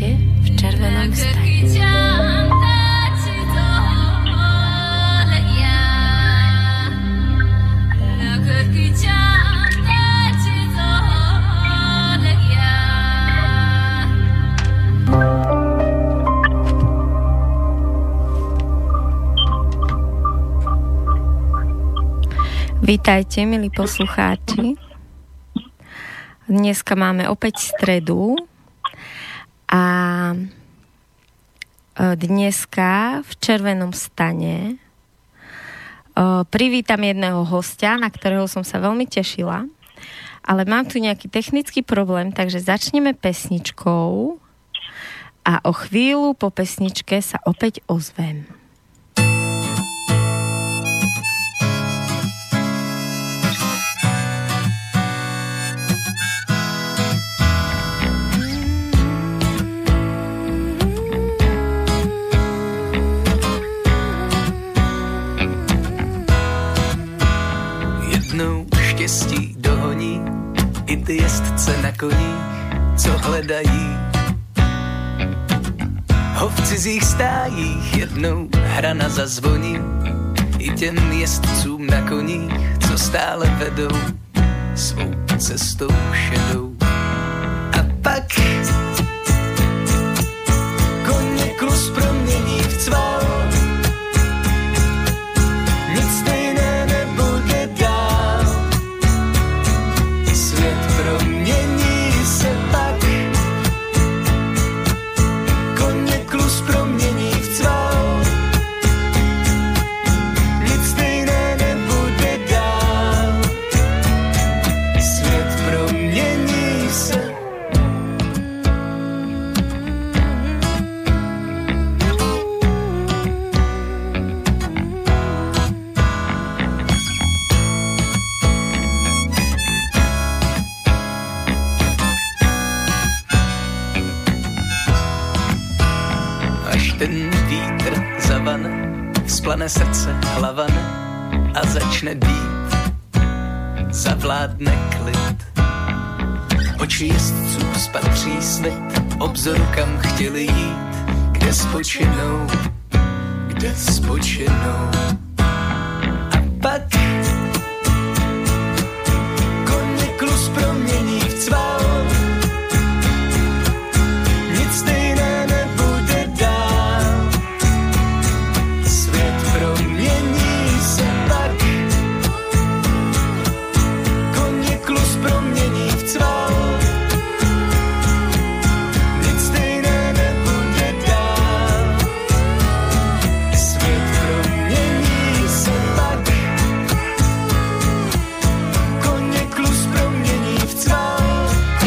Vítajte v červenom stane. Vítajte, milí poslucháči. Dneska máme opäť stredu a dneska v červenom stane privítam jedného hostia, na ktorého som sa veľmi tešila, ale mám tu nejaký technický problém, takže začneme pesničkou a o chvíľu po pesničke sa opäť ozvem. Štěstí dohoní i ty jezdce na koních, co hledají ho v cizích stájích. Jednou hrana zazvoní i těm jezdcům na koních, co stále vedou svou cestou šedou. A pak koně klus promění v cval, nic stejné nebude dál. Svět promění se pak, koně klus promění v cval, nic stejné nebude dál. Svět promění se. Ten vítr zavane, vzplane srdce hlavane a začne být, zavládne klid. Oči jezdců spatří svět, obzoru kam chtěli jít, kde spočinou, kde spočinou. A pak koně klus promění v cval, nic stejné nebude dál. Promění se pak, koně klus promění v cval, nic stejné nebude dál. Svět promění se pak, koně klus promění v cval,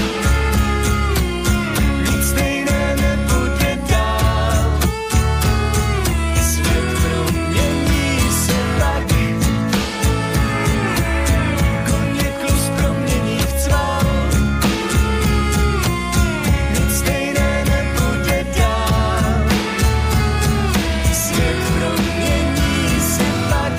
nic stejné nebude dál. Svět promění se pak, koně klus promění v cval, nic stejné nebude dál. Svět promění se pak.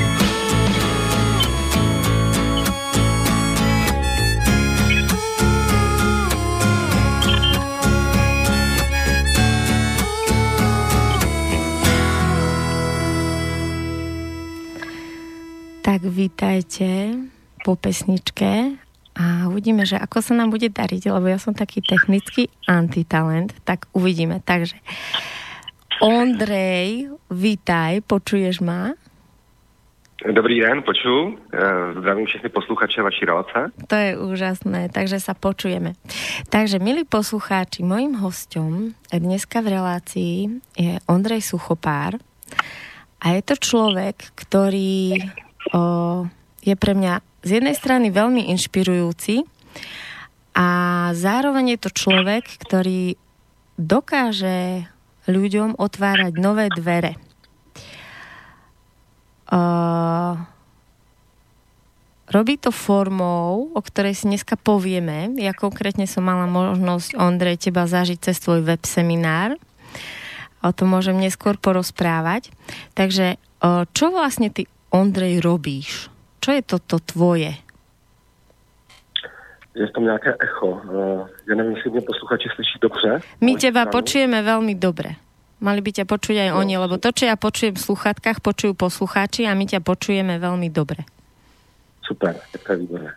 Tak vítajte po pesničke a uvidíme, že ako sa nám bude dariť, lebo ja som taký technický antitalent, tak uvidíme. Takže Ondrej, vítaj, počuješ ma? Dobrý den, počuju. Zdravím všechny posluchače vaší relace. To je úžasné, takže sa počujeme. Takže, milí poslucháči, mojím hosťom dneska v relácii je Ondrej Suchopár a je to človek, ktorý je pre mňa z jednej strany veľmi inšpirujúci a zároveň je to človek, ktorý dokáže ľuďom otvárať nové dvere. Robí to formou, o ktorej si dneska povieme. Ja konkrétne som mala možnosť, Ondrej, teba zažiť cez tvoj web seminár. O tom môžem neskôr porozprávať. Takže čo vlastne ty, Ondrej, robíš? Čo je toto tvoje? je tam nějaké echo. Ja neviem, jestli mě posluchači slyší dobře. My teba počujeme veľmi dobre. Mali by ťa počuť aj oni, lebo to, čo ja počujem v sluchatkách, počujú poslucháči a my ťa počujeme veľmi dobre. Super, tak to je výborné.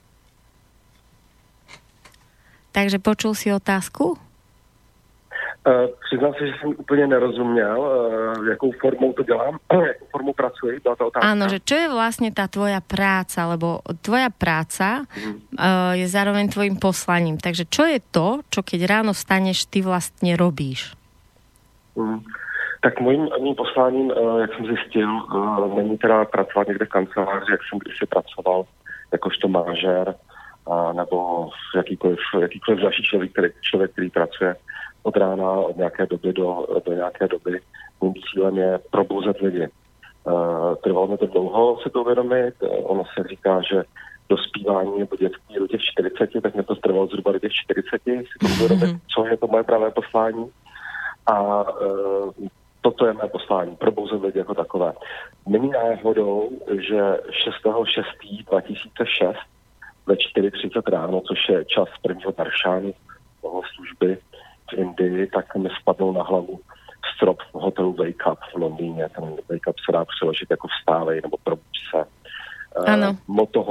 Takže počul si otázku? Přiznám se, že jsem úplně nerozuměl, jakou formou to dělám, jakou formou pracuji, byla to otázka. Áno, že čo je vlastne tá tvoja práca, lebo tvoja práca je zároveň tvojim poslaním. Takže čo je to, čo keď ráno vstaneš, ty vlastne robíš? Tak mým posláním, jak jsem zjistil, není teda pracovat někde v kanceláři, jak jsem kdysi pracoval jakožto manažér, nebo jakýkoliv další člověk, který pracuje od rána, od nějaké doby do nějaké doby. Mým cílem je probouzet lidi. Trvalo mi to dlouho se to uvědomit. Ono se říká, že dospívání nebo dětství do těch 40, tak mě to trvalo zhruba do těch 40, si to uvědomit, co je to moje pravé poslání. A toto je mé poslání, probouzet lidi jako takové. Není náhodou, že 6.6.2006 ve 4:30 ráno, což je čas prvního taršánu služby v Indii, tak mi spadnou na hlavu strop v hotelu Wake Up v Londýně. Ten Wake Up se dá přeložit jako vstávej nebo probuď se. Motto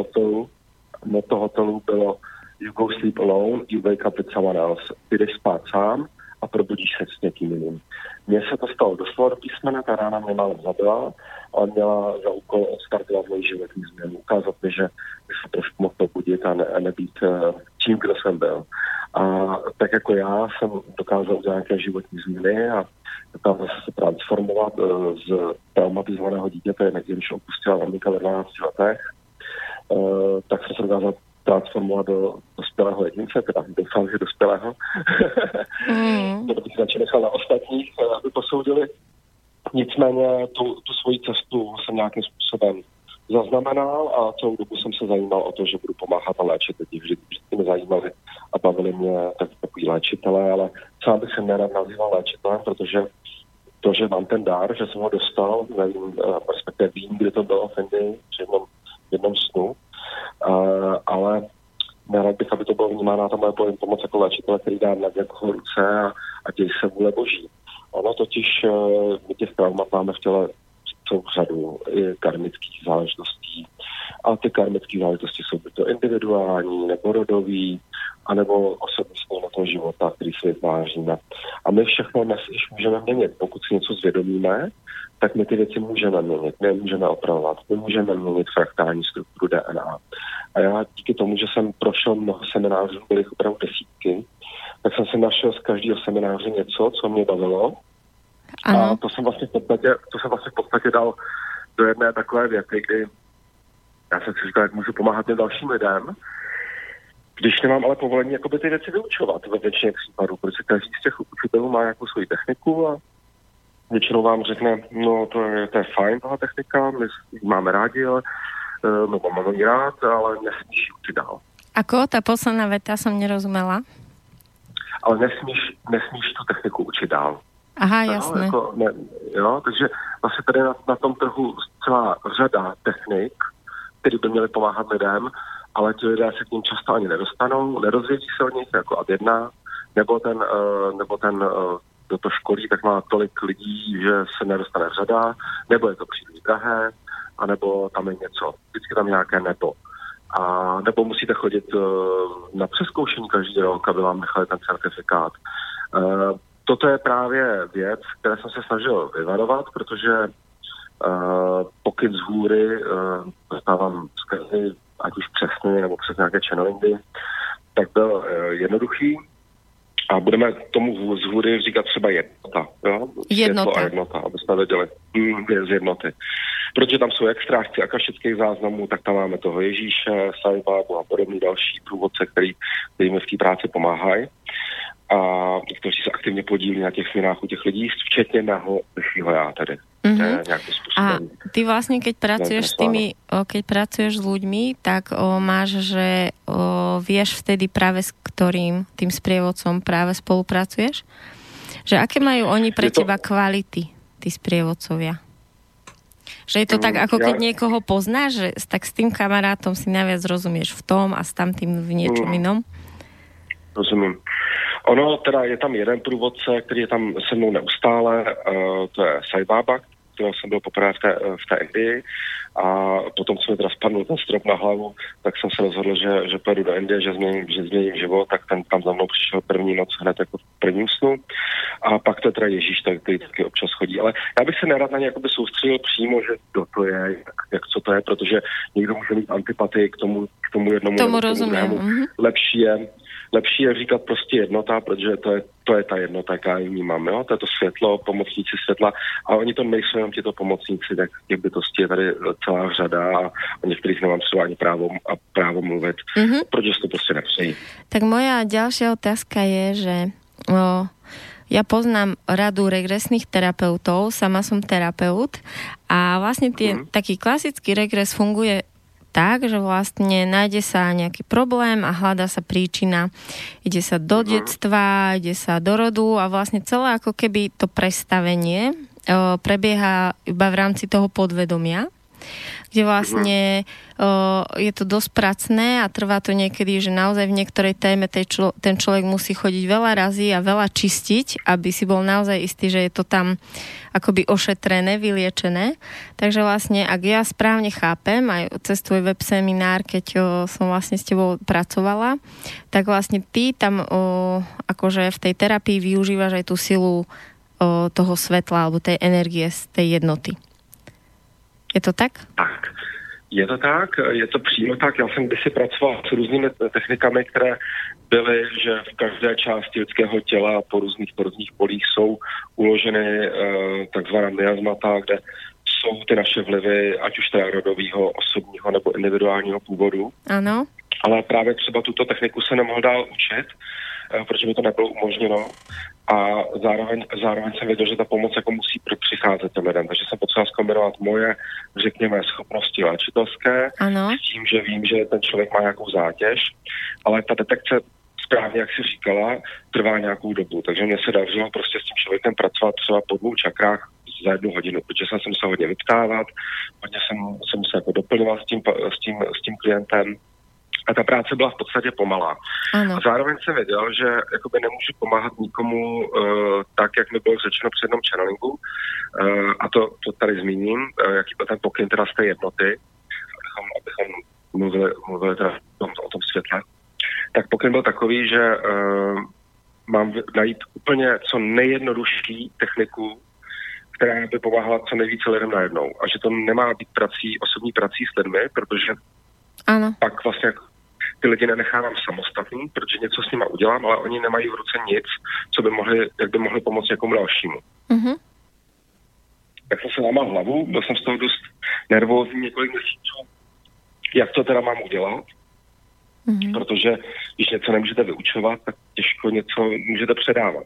hotelu bylo You go sleep alone, you wake up with someone else. Ty jdeš spát sám a probudíš se s někým jiným. Mně se to stalo doslova do písmene, ta rána mě málem zabila, ale měla za úkol odstartovat moji životní změnu. Ukázat mi, že bych se trošku mohl probudit a nebýt tím, kdo jsem byl. A tak jako já jsem dokázal udělat nějaké životní změny a dokázal se transformovat z traumatizovaného dítěte, když opustila maminka ve 12 letech, tak jsem se dokázal transformovat do dospělého jedince, teda doufám, že dospělého. To bych radši nechal na ostatních, aby posoudili. Nicméně tu svoji cestu jsem nějakým způsobem zaznamenal a celou dobu jsem se zajímal o to, že budu pomáhat a léčit lidi. Vždycky mě zajímali a bavili mě takový léčitelé, ale sám bych se nerad nazýval léčitelem, protože to, že mám ten dar, že jsem ho dostal, nevím, respektive vím, kdy to bylo v Indii, při jednom snu, ale nerad bych, aby to bylo vnímána ta moje pomoc jako léčitele, který dá na někoho ruce a děj se vůle boží. Ono totiž my těch traumat máme v těle celou řadu i karmických záležitostí. A ty karmické záležitosti jsou buď to individuální, nebo rodový, anebo osobnostní na toho života, který si vytváříme. A my všechno dnes již můžeme měnit. Pokud si něco zvědomíme, tak my ty věci můžeme měnit, my můžeme opravovat, my můžeme měnit fraktální strukturu DNA. A já díky tomu, že jsem prošel mnoho seminářů, byly opravdu desítky, tak jsem si našel z každého semináře něco, co mě bavilo. Ano. A to jsem vlastně v podstatě dal do jedné takové věty, kdy já jsem si říkal, jak můžu pomáhat těm dalším lidem, když nemám ale povolení jakoby ty věci vyučovat ve většině případů, protože každý z těch učitelů má nějakou svoji techniku a většinou vám řekne, no to je fajn, tahle technika, my máme rádi, ale máme ji rád, ale nesmíš ji učit dál. Ako? Tá posledná veta som nerozumela. Ale nesmíš tu techniku učit dál. Aha, jasné. Takže vlastně tady na tom trhu celá řada technik, které by měly pomáhat lidem, ale ti lidé se k ním často ani nedostanou, nerozvědí se o nich jako ad jedna, nebo ten kdo to školí, tak má tolik lidí, že se nedostane řada, nebo je to příliš drahé, anebo tam je něco, vždycky tam nějaké nebo. A nebo musíte chodit na přezkoušení každý rok, aby vám nechali ten certifikát. Toto je právě věc, které jsem se snažil vyvarovat, protože pokud z hůry dostávám zkazy, ať už přesně nebo přes nějaké channelingy, tak byl jednoduchý a budeme tomu z hůry říkat třeba jednota. Jo? Jednota, aby jsme věděli z jednoty. Protože tam jsou jak strážci akašických záznamů, tak tam máme toho Ježíše, Saibabu a podobný další průvodce, který mi v té práci pomáhají a kteří se aktivně podílí na těch změnách u těch lidí, včetně mého vyššího já tedy. A ty vlastne, keď pracuješ s ľuďmi, tak máš, že vieš vtedy práve s ktorým tým sprievodcom práve spolupracuješ? Že aké majú oni pre teba kvality, tí sprievodcovia? Že je to tak, ako keď niekoho poznáš, že tak s tým kamarátom si najviac rozumieš v tom a s tamtým v niečom inom? Rozumím. Ono teda je tam jeden průvodce, který je tam se mnou neustále, to je Sai Baba, kterého jsem byl poprvé v té Indii a potom, co mi teda spadnul ten strop na hlavu, tak jsem se rozhodl, že pojedu do Indie, že změním život, tak ten tam za mnou přišel první noc hned jako v prvním snu a pak to je teda Ježíš, který taky občas chodí. Ale já bych se nerad na ně jakoby soustředil přímo, že kdo to je, co to je, protože někdo může mít antipatii k tomu jednomu. Tomu rozumím. Lepší je říkat prostě jednota, protože to je ta jednota, jaká ji vnímám, jo? To je to světlo, pomocníci světla a oni to nejsou jenom tyto pomocníci, tak těch bytostí je tady celá řada a o některých nemám třeba ani právo mluvit, protože to prostě nepřejí. Tak moja ďalšia otázka je, že ja poznám radu regresných terapeutov, sama som terapeut a vlastne taký klasický regres funguje tak, že vlastne nájde sa nejaký problém a hľadá sa príčina. Ide sa do detstva, ide sa do rodu a vlastne celé ako keby to prestavenie prebieha iba v rámci toho podvedomia, kde vlastne je to dosť pracné a trvá to niekedy, že naozaj v niektorej téme ten človek musí chodiť veľa razy a veľa čistiť, aby si bol naozaj istý, že je to tam akoby ošetrené, vyliečené. Takže vlastne, ak ja správne chápem, aj cez tvoj web seminár, keď som vlastne s tebou pracovala, tak vlastne ty tam akože v tej terapii využívaš aj tú silu toho svetla alebo tej energie z tej jednoty. Je to tak? Tak. Je to tak, je to přímo tak. Já jsem kdysi pracoval s různými technikami, které byly, že v každé části lidského těla po různých polích jsou uloženy takzvaná miasmata, kde jsou ty naše vlivy, ať už teda rodového, osobního nebo individuálního původu. Ano. Ale právě třeba tuto techniku se nemohl dál učit, protože mi to nebylo umožněno. A zároveň jsem věděl, že ta pomoc jako musí přicházet těm lidem. Takže jsem potřeboval zkombinovat moje, řekněme, schopnosti léčitelské s tím, že vím, že ten člověk má nějakou zátěž, ale ta detekce správně, jak jsi říkala, trvá nějakou dobu. Takže mě se dařilo prostě s tím člověkem pracovat třeba po 2 čakrách za 1 hodinu, protože jsem se musel hodně vyptávat, hodně jsem se jako doplňoval s tím klientem. A ta práce byla v podstatě pomalá. Ano. A zároveň jsem věděl, že jakoby nemůžu pomáhat nikomu tak, jak mi bylo řečeno při jednom channelingu. A to tady zmíním, jaký byl ten pokyn teda z té jednoty, abychom mluvili teda o tom světle. Tak pokyn byl takový, že mám najít úplně co nejjednodušší techniku, která by pomáhala co nejvíce lidem najednou. A že to nemá být osobní prací s lidmi, protože pak vlastně ty lidi nenechávám samostatný, protože něco s nima udělám, ale oni nemají v ruce nic, jak by mohli pomoct někomu dalšímu. Tak jsem se lámal hlavu, byl jsem z toho dost nervózní několik měsíců, jak to teda mám udělat, protože když něco nemůžete vyučovat, tak těžko něco můžete předávat.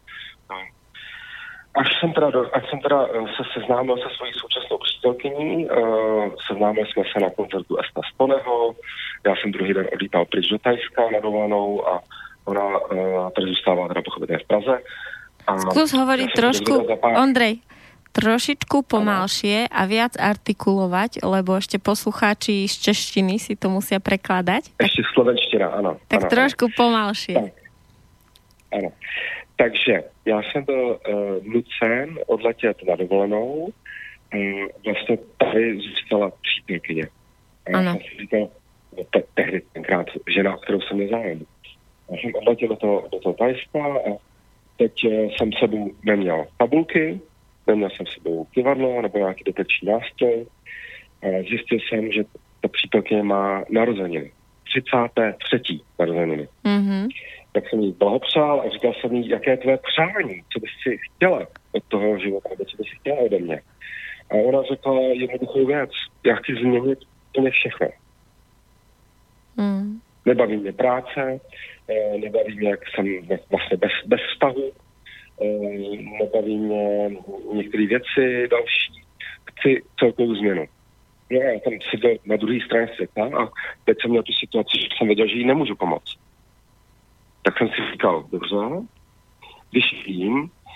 Až jsem teda se seznámil se svojí současnou přítelkyní, seznámili jsme se na koncertu Esta Stoneho, já jsem druhý den odlítal pryč do Thajska na dovolenou a ona tady zůstává teda pochopitelně v Praze. Skús hovoriť trošku, Ondrej, trošičku pomalšie a viac artikulovať, lebo ešte poslucháči z češtiny si to musia prekladať. Ešte slovenština, áno. Tak ano, trošku pomalšie. Tak. Ano. Takže já jsem byl nucen odletět na dovolenou. Vlastně tady zůstala přítelkyně. Já jsem si říkal, tehdy tenkrát žena, o kterou jsem nezájem. Já jsem odletěl do toho Thajska a teď jsem sebou neměl tabulky, neměl jsem sebou kivadlo nebo nějaký detekční nástroj. Zjistil jsem, že ta přítelkyně má narozeniny. 33. narozeniny. Tak jsem jí blahopřál a říkal jsem jí, jaké je tvoje přání, co bys si chtěla od toho života, nebo co bys si chtěla ode mě. A ona řekla jednoduchou věc, já chci změnit úplně všechno. Nebaví mě práce, nebaví mě, jak jsem vlastně bez vztahu, nebaví mě některé věci další, chci celkovou změnu. No, já tam seděl na druhé straně světa a teď jsem měl tu situaci, že jsem věděl, že jí nemůžu pomoct. Tak jsem si říkal, dobře, když vím,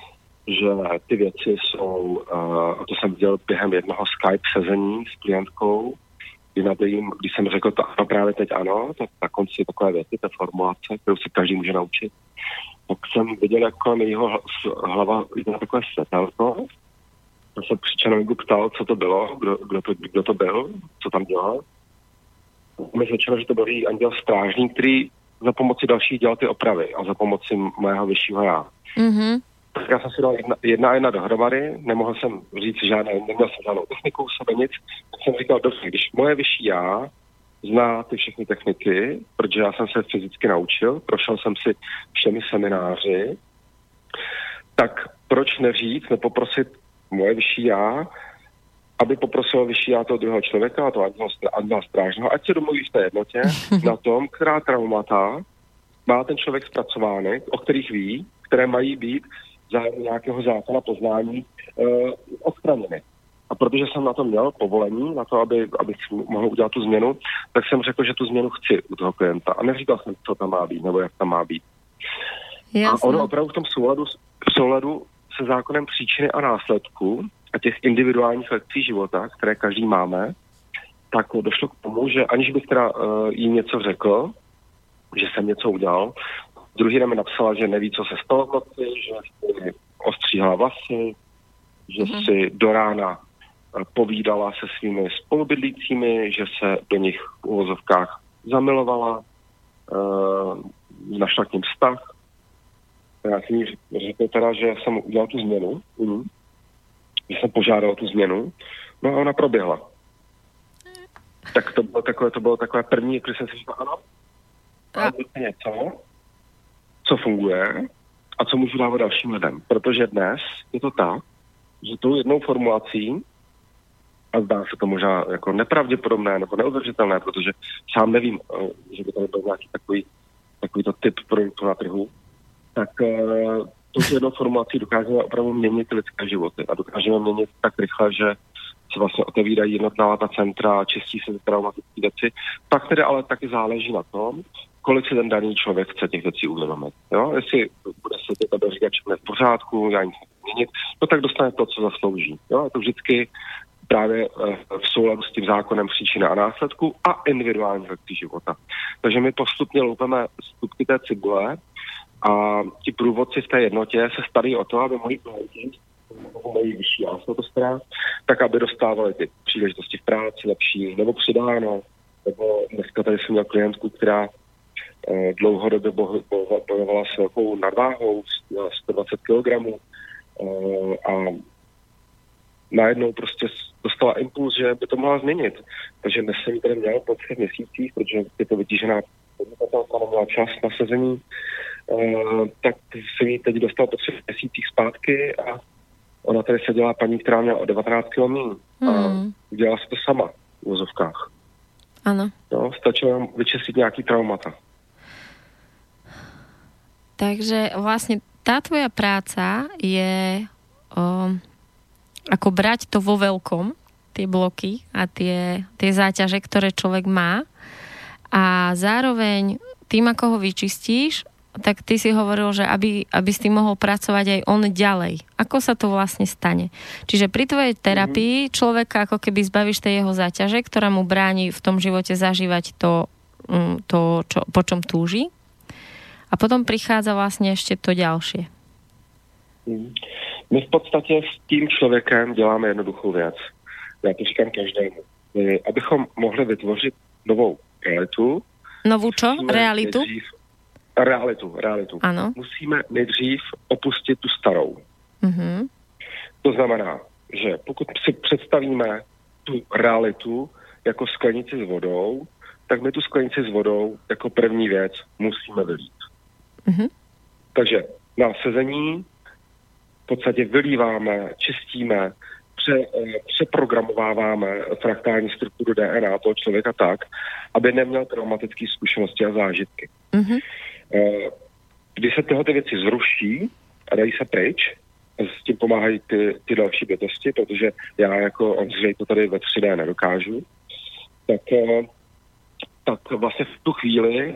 že ty věci jsou, to jsem viděl během jednoho Skype sezení s klientkou, když jsem řekl to ano, právě teď ano, tak na konci takové věci, ta formulace, kterou si každý může naučit, tak jsem viděl, jak kolem jeho hlava jde na takové světelko. Já jsem při čarodějníku ptal, co to bylo, kdo to byl, co tam dělal. Mi řečeno, že to byl její anděl strážník, který za pomoci dalších dělal ty opravy a za pomoci mého vyššího já. Mm-hmm. Tak já jsem si dal jedna dohromady, nemohl jsem říct neměl jsem žádnou techniku, sebe nic, tak jsem říkal, dobře, když moje vyšší já zná ty všechny techniky, protože já jsem se fyzicky naučil, prošel jsem si všemi semináři, tak proč nepoprosit moje vyšší já, aby poprosil vyšší já toho druhého člověka, a to anděla strážného, ať se domluví v té jednotě na tom, která traumata má ten člověk zpracovány, o kterých ví, které mají být za nějakého zákona poznání odstraněny. A protože jsem na to měl povolení, na to, abych mohl udělat tu změnu, tak jsem řekl, že tu změnu chci u toho klienta. A neříkal jsem, co tam má být, nebo jak tam má být. Jasně. A ono opravdu v tom souladu se zákonem příčiny a následku a těch individuálních lekcí života, které každý máme, tak došlo k tomu, že aniž bych teda jí něco řekl, že jsem něco udělal, druhý den mi napsala, že neví, co se stalo v noci, že si ostříhala vlasy, že si do rána povídala se svými spolubydlícími, že se do nich v uvozovkách zamilovala, našla k ním vztah. Já jsem jí řekl teda, že jsem udělal tu změnu, že jsem požádal tu změnu, no a ona proběhla. Tak to bylo takové první, když jsem si říkal, ano, a něco, co funguje a co můžu dávat dalším lidem. Protože dnes je to tak, že tou jednou formulací, a zdá se to možná jako nepravděpodobné nebo neudržitelné, protože sám nevím, že by to byl nějaký takovýto typ produktu na trhu, tak tou jednou formulací dokážeme opravdu měnit lidské životy a dokážeme měnit tak rychle, že se vlastně otevírají jednotlivá ta centra, čistí se traumatické věci. Pak tedy ale taky záleží na tom, kolik si ten daný člověk chce těch věcí uvědomit. Jo? Jestli bude se to říkat, že v pořádku, já nic měnit, no tak dostane to, co zaslouží. Jo? Je to vždycky právě v souladu s tím zákonem příčiny a následku a individuálních lekcí života. Takže my postupně loupeme stupky té cibule a ti průvodci v té jednotě se starají o to, aby moji klienti, mají vyšší jasnotostrá, tak aby dostávali ty příležitosti v práci lepší, nebo přidáno, nebo dneska tady jsem měl klientku, která dlouhodobě bojovala s velkou nadváhou, 120 kg a najednou prostě dostala impuls, že by to mohla změnit. Takže dnes jsem ji tady měl po 3 měsících, protože je to vytížená podnikatelka, neměla čas na sezení, tak jsem ji teď dostal po 3 měsících zpátky a ona tady seděla paní, která měla o 19 kg a udělala si to sama v uvozovkách. Ano. No, stačilo nám vyčistit nějaký traumata. Takže vlastne tá tvoja práca je ako brať to vo veľkom, tie bloky a tie záťaže, ktoré človek má a zároveň tým, ako ho vyčistíš, tak ty si hovoril, že aby s tým mohol pracovať aj on ďalej. Ako sa to vlastne stane? Čiže pri tvojej terapii človeka ako keby zbavíš tej jeho záťaže, ktorá mu bráni v tom živote zažívať to po čom túži. A potom prichádza vlastne ešte to ďalšie. My v podstatě s tím člověkem děláme jednoduchou věc. Já to říkám každému. Abychom mohli vytvořit novou realitu. Novou čo? Realitu? Realitu. Ano. Musíme nejdřív opustit tu starou. Mm-hmm. To znamená, že pokud si představíme tu realitu jako sklenici s vodou, tak my tu sklenici s vodou jako první věc musíme vylít. Mm-hmm. Takže na sezení v podstatě vylíváme, čistíme, přeprogramováváme fraktální strukturu DNA toho člověka tak, aby neměl traumatické zkušenosti a zážitky. Mm-hmm. Když se tyhle věci zruší a dají se pryč, a s tím pomáhají ty další bytosti, protože já jako Ondřej to tady ve 3D nedokážu, tak vlastně v tu chvíli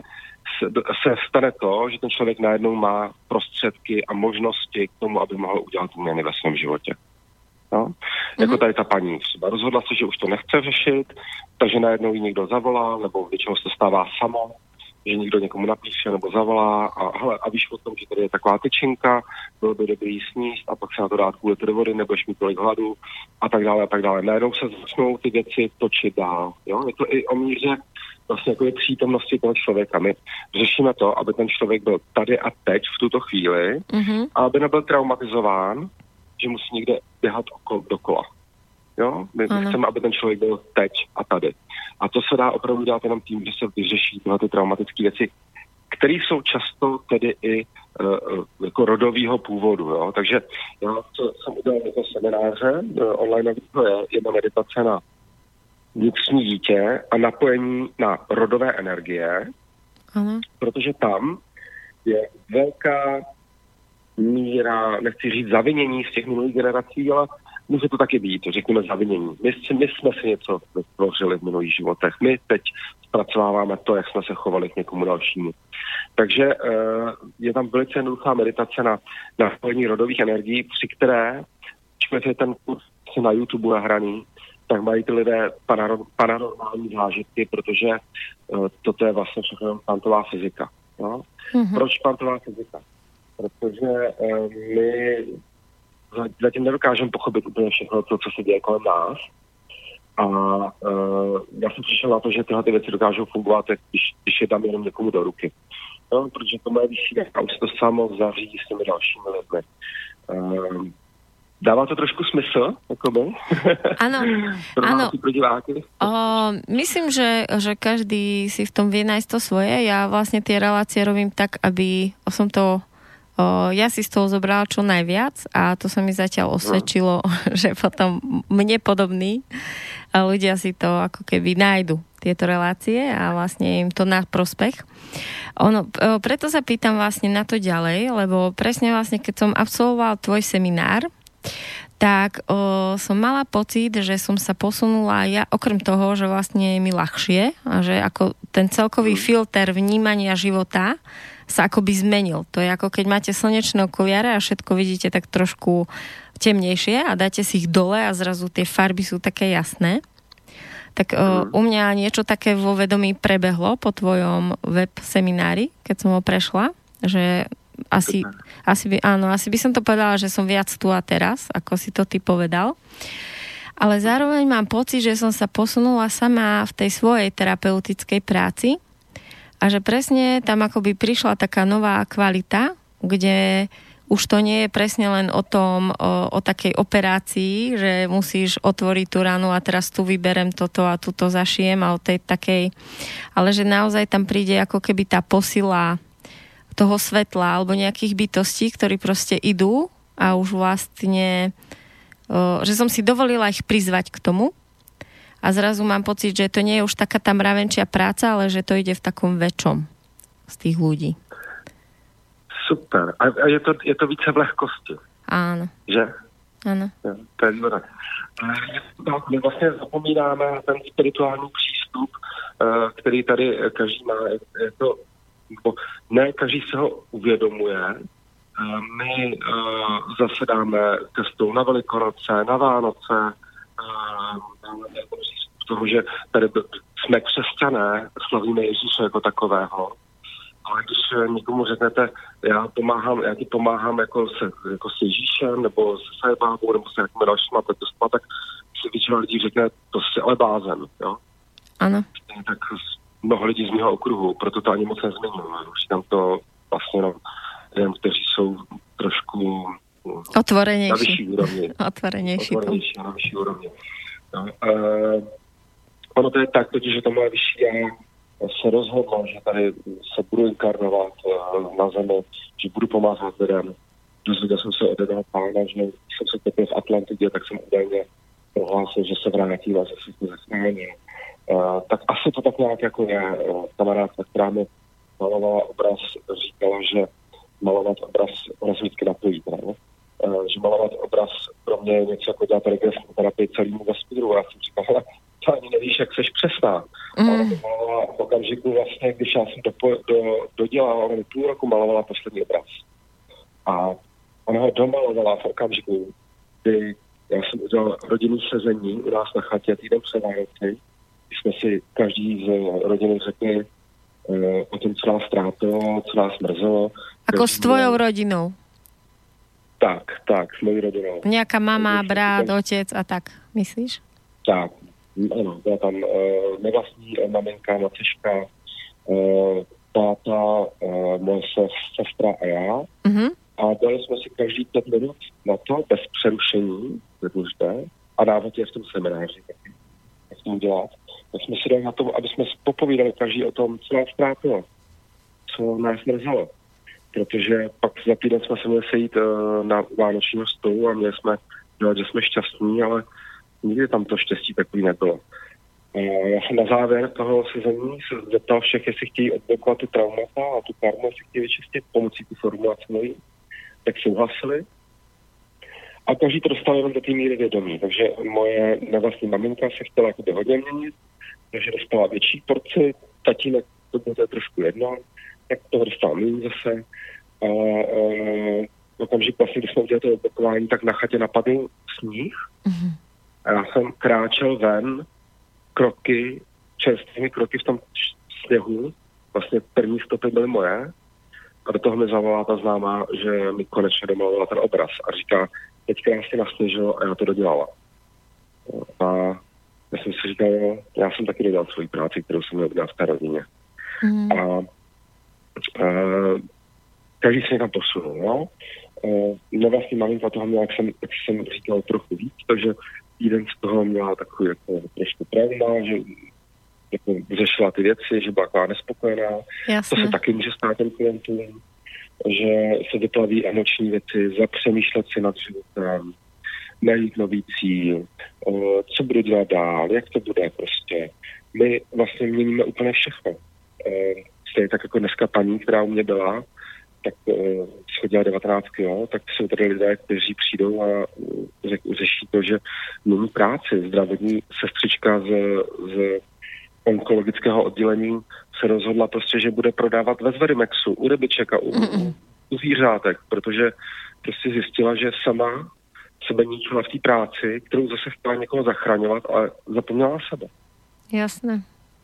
se stane to, že ten člověk najednou má prostředky a možnosti k tomu, aby mohl udělat změny ve svém životě. No? Jako tady ta paní třeba rozhodla se, že už to nechce řešit, takže najednou jí někdo zavolá, nebo většinou se to stává samo, že někdo někomu napíše nebo zavolá a víš o tom, že tady je taková tyčinka, bylo by dobrý jí sníst a pak se na to dát kvůli do vody, nebudeš mít tolik hladu a tak dále a tak dále. Najednou se začnou ty věci točit dál. Jo? Je to i o míře vlastně jako je přítomnosti toho člověka. My řešíme to, aby ten člověk byl tady a teď v tuto chvíli a aby nebyl traumatizován, že musí někde běhat dokola. Jo? My chceme, aby ten člověk byl teď a tady. A to se dá opravdu dělat jenom tím, že se vyřeší tyhle ty traumatické věci, které jsou často tedy i jako rodového původu. Jo? Takže já jsem udělal jako semináře, online je jedna meditace na vnitřní dítě a napojení na rodové energie, protože tam je velká míra, nechci říct zavinění z těch minulých generací, ale může to taky být, řekněme zavinění. My jsme si něco vytvořili v minulých životech. My teď zpracováváme to, jak jsme se chovali k někomu dalšímu. Takže je tam velice jednoduchá meditace na napojení rodových energií, při které, když je ten kurz na YouTube nahraný, tak mají ty lidé paranormální zážitky, protože toto je vlastně všechno kvantová fyzika. No? Proč kvantová fyzika? Protože my zatím nedokážeme pochopit úplně všechno to, co se děje kolem nás. A já jsem přišel na to, že tyhle ty věci dokážou fungovat, když je dám jenom někomu do ruky. No, protože to moje vysílání a už se to samo zařídí s těmi dalšími lidmi. Dává to trošku smysl, jakoby? Áno, áno. Myslím, že každý si v tom vie nájsť to svoje. Ja vlastne tie relácie robím tak, aby som to ja si z toho zobrala čo najviac a to sa mi zatiaľ osvedčilo, že potom mne podobní ľudia si to ako keby nájdu tieto relácie a vlastne im to na prospech. Preto sa pýtam vlastne na to ďalej, lebo presne vlastne keď som absolvoval tvoj seminár, tak som mala pocit, že som sa posunula ja, okrem toho, že vlastne je mi ľahšie a že ako ten celkový filter vnímania života sa akoby zmenil. To je ako keď máte slnečné okuliare a všetko vidíte tak trošku temnejšie a dáte si ich dole a zrazu tie farby sú také jasné. Tak u mňa niečo také vo vedomí prebehlo po tvojom web seminári, keď som ho prešla, že asi by som to povedala, že som viac tu a teraz, ako si to ty povedal. Ale zároveň mám pocit, že som sa posunula sama v tej svojej terapeutickej práci a že presne tam akoby prišla taká nová kvalita, kde už to nie je presne len o tom, o takej operácii, že musíš otvoriť tú ranu a teraz tu vyberem toto a tu to zašijem a o tej takej, ale že naozaj tam príde ako keby tá posila toho svetla alebo nejakých bytostí, ktorí proste idú a už vlastne, že som si dovolila ich prizvať k tomu a zrazu mám pocit, že to nie je už taká tá mravenčia práca, ale že to ide v takom väčšom z tých ľudí. Super. A je to více v lehkosti. Áno. Že? Áno. Ja, to je dobré. My vlastně zapomínáme ten spirituální přístup, který tady každý má. Je to ne každý se ho uvědomuje. My zasedáme ke stolu na Velikonoce, na Vánoce, máme přístup toho, že tady jsme křesťané, slavíme Ježíše jako takového. Ale když někomu řeknete, já ti pomáhám jako s Ježíšem, nebo se sajebábou, nebo se jakými dalšíma protestovat, tak si většina lidí řekne, to jsi ale blázen, jo? Ano. Tak mnoho lidí z mého okruhu, proto to ani moc nezmiňuji. Už tam to vlastně jenom kteří jsou trošku otvorenější. Na vyšší úrovni. Otvorenější na vyšší úrovni. No, ono to je tak, totiž, že to moje vyšší já se rozhodlo, že tady se budu inkarnovat na zemi, že budu pomáhat lidem. Dozvěděl jsem se od jednoho pána, že jsem se topil v Atlantidě, tak jsem údajně prohlásil, že se vrátím a že se to zasmání. Tak asi to tak nějak jako je. Kamarádka, která mi malovala obraz, říkala, že malovat obraz vždycky napojí. Že malovat obraz pro mě je něco jako dělat regresní terapii celému vesmíru. Já jsem říkala, to ani nevíš, jak seš přesná. Ale to malovala v okamžiku, okamžiku vlastně, když já jsem dodělala, ona mi půl roku malovala poslední obraz. A ona ho domalovala v okamžiku, kdy já jsem udělal rodinný sezení u nás na chatě týden před Vánoci, kdy jsme si každý z rodiny řekli o tom, co nás trápilo, co nás mrzelo. Ako s tvojou rodinou? Tak, s mojí rodinou. Nejaká mama, brat, otec a tak, myslíš? Tak, ano, byla tam nevlastní maminka, macička, táta, moje sestra a já. Mhm. A dali jsme si každý 5 minut na to, bez přerušení, důležité, a dávat je v tom semináři, jak to dělat. Tak jsme si dali na to, aby jsme popovídali každý o tom, co nás trápilo, co nás mrzelo. Protože pak za týden jsme se měli sejít na vánočního stolu a měli jsme dělat, že jsme šťastní, ale nikdy tam to štěstí takový nebylo. Já jsem na závěr toho sezení se zeptal všech, jestli chtějí odblokovat ty traumata a tu karmu, jestli chtějí vyčistit pomocí ty formulace mojí, tak souhlasili. A každý to dostal jenom do té míry vědomí. Takže moje nevlastní maminka se chtěla jakoby hodně měnit, takže dostala větší porci, tatínek to bylo trošku jedno, tak toho dostal méně zase. Okamžik vlastně, když jsme udělali to odblokování, tak na chatě napadl sníh. Mm-hmm. A já jsem kráčel ven čerstvými kroky v tom sněhu. Vlastně první stopy byly moje. A do toho mi zavolala ta známá, že mi konečně domalovala ten obraz. A říká, teď krásně nasněžilo a já to dodělala. A já jsem si říkal, já jsem taky dodělal svoji práci, kterou jsem měl udělat v té rodině. Mm. A každý se někam posunul, no. Nevlastní maminka toho měla, jak jsem říkal, trochu víc, takže týden z toho měla takový jako trošku trauma, že jako řešila ty věci, že byla taková nespokojená. Jasne. To se taky může stát těm klientům, že se vyplaví emoční věci, zapřemýšlet si nad životem, najít nový cíl, co budu dělat dál, jak to bude prostě. My vlastně měníme úplně všechno. Stejně tak jako dneska paní, která u mě byla, tak schodila 19, jo, tak jsou tady lidé, kteří přijdou a řeší to, že mění práci. Zdravotní sestřička z onkologického oddělení se rozhodla prostě, že bude prodávat ve Zverimexu, u rybiček a u zvířátek, protože prostě zjistila, že sama sebe ničila v té práci, kterou zase chtěla někoho zachraňovat, ale zapomněla na sebe. Jasné.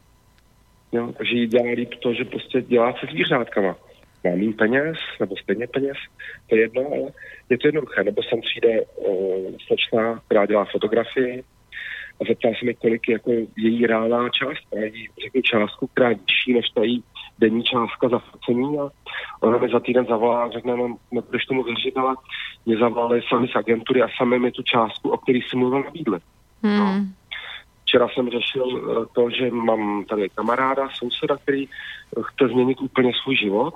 Jo, takže jí dělá líp to, že prostě dělá se zvířátkama. Má méně peněz, nebo stejně peněz, to je jedno, ale je to jednoduché. Nebo sem přijde slečna, která dělá fotografii a zeptá se mi, kolik je jako její reálná částka. Já jí řeknu částku, která je vyšší než ta její denní částka za focení a ona mi za týden zavolá a řekne, no, nebudeš tomu věřit, ale mě zavolali sami z agentury a sami mi tu částku, o který jsem mluvil, nabídli. No. Včera jsem řešil to, že mám tady kamaráda, souseda, který chce změnit úplně svůj život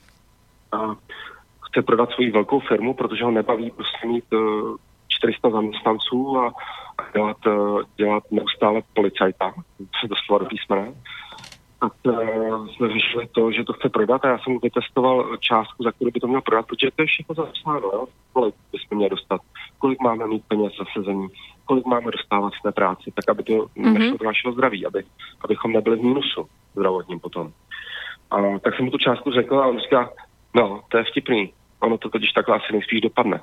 a chce prodat svoji velkou firmu, protože ho nebaví prostě mít 400 zaměstnanců a dělat neustále policajta, se doslova do písmene. Tak jsme řešili to, že to chce prodat a já jsem mu vytestoval částku, za kterou by to měl prodat, protože to je všechno zapsáno, jo? Kolik bychom měli dostat, kolik máme mít peněz za sezení, kolik máme dostávat z té práci, tak aby to nešlo do našeho zdraví, abychom nebyli v mínusu zdravotním potom. A tak jsem mu tu částku řekl a on říká, no, to je vtipný, ono to totiž takhle asi nejspíš dopadne.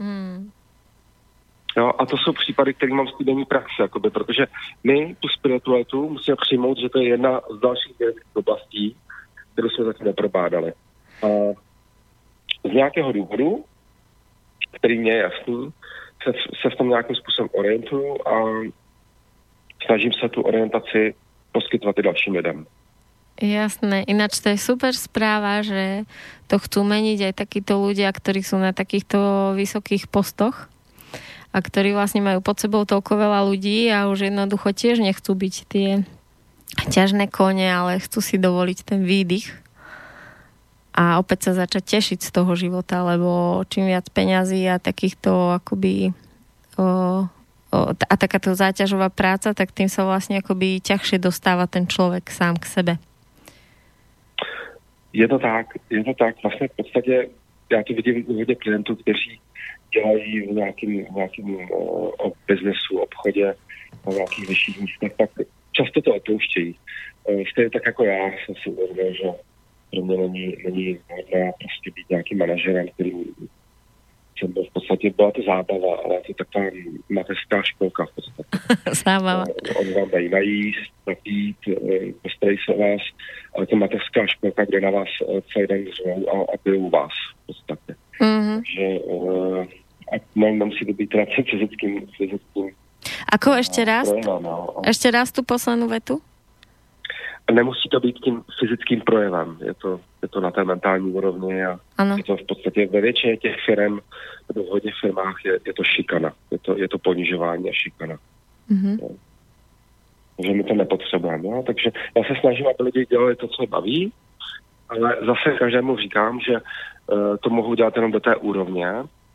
Jo, a to jsou případy, které mám z týdenní praxe, jakoby, protože my tu spiritualitu musíme přijmout, že to je jedna z dalších oblastí, kterou jsme zatím neprobádali. A z nějakého důvodu, který mě je jasný, se v tom nějakým způsobem orientuju a snažím se tu orientaci poskytovat i dalším lidem. Jasné, ináč to je super správa, že to chcú meniť aj takíto ľudia, ktorí sú na takýchto vysokých postoch a ktorí vlastne majú pod sebou toľko veľa ľudí a už jednoducho tiež nechcú byť tie ťažné kone, ale chcú si dovoliť ten výdych a opäť sa začať tešiť z toho života, lebo čím viac peňazí a takýchto akoby a takáto záťažová práca, tak tým sa vlastne akoby ťažšie dostáva ten človek sám k sebe. Je to tak. Vlastně v podstatě já to vidím u hodně klientů, kteří dělají v nějakým biznesu, obchodě, na nějakých vyšších místech, tak často to opouštějí. stejně tak jako já jsem si uvědomil, že pro mě není vhodné prostě být nějakým manažerem, který jsem byl v podstatě, byla to zábava, ale je to taková mateřská školka v podstatě. Zábava. Oni vám dají najíst, napít, postarají se o vás, ale to mateřská školka, kde na vás celý den řvou a pijou vás v podstatě. Takže nemusí to být teda fyzickým. Ako ešte raz? Ešte raz tú poslednú vetu? Nemusí to být tím fyzickým projevem. Je to na té mentální úrovni a je to v podstatě ve většině těch firm, nebo v hodně firmách je to šikana. Je to ponižování a šikana. Takže my to nepotřebujeme. No? Takže já se snažím, aby lidi dělali to, co je baví, ale zase každému říkám, že to mohou dělat jenom do té úrovně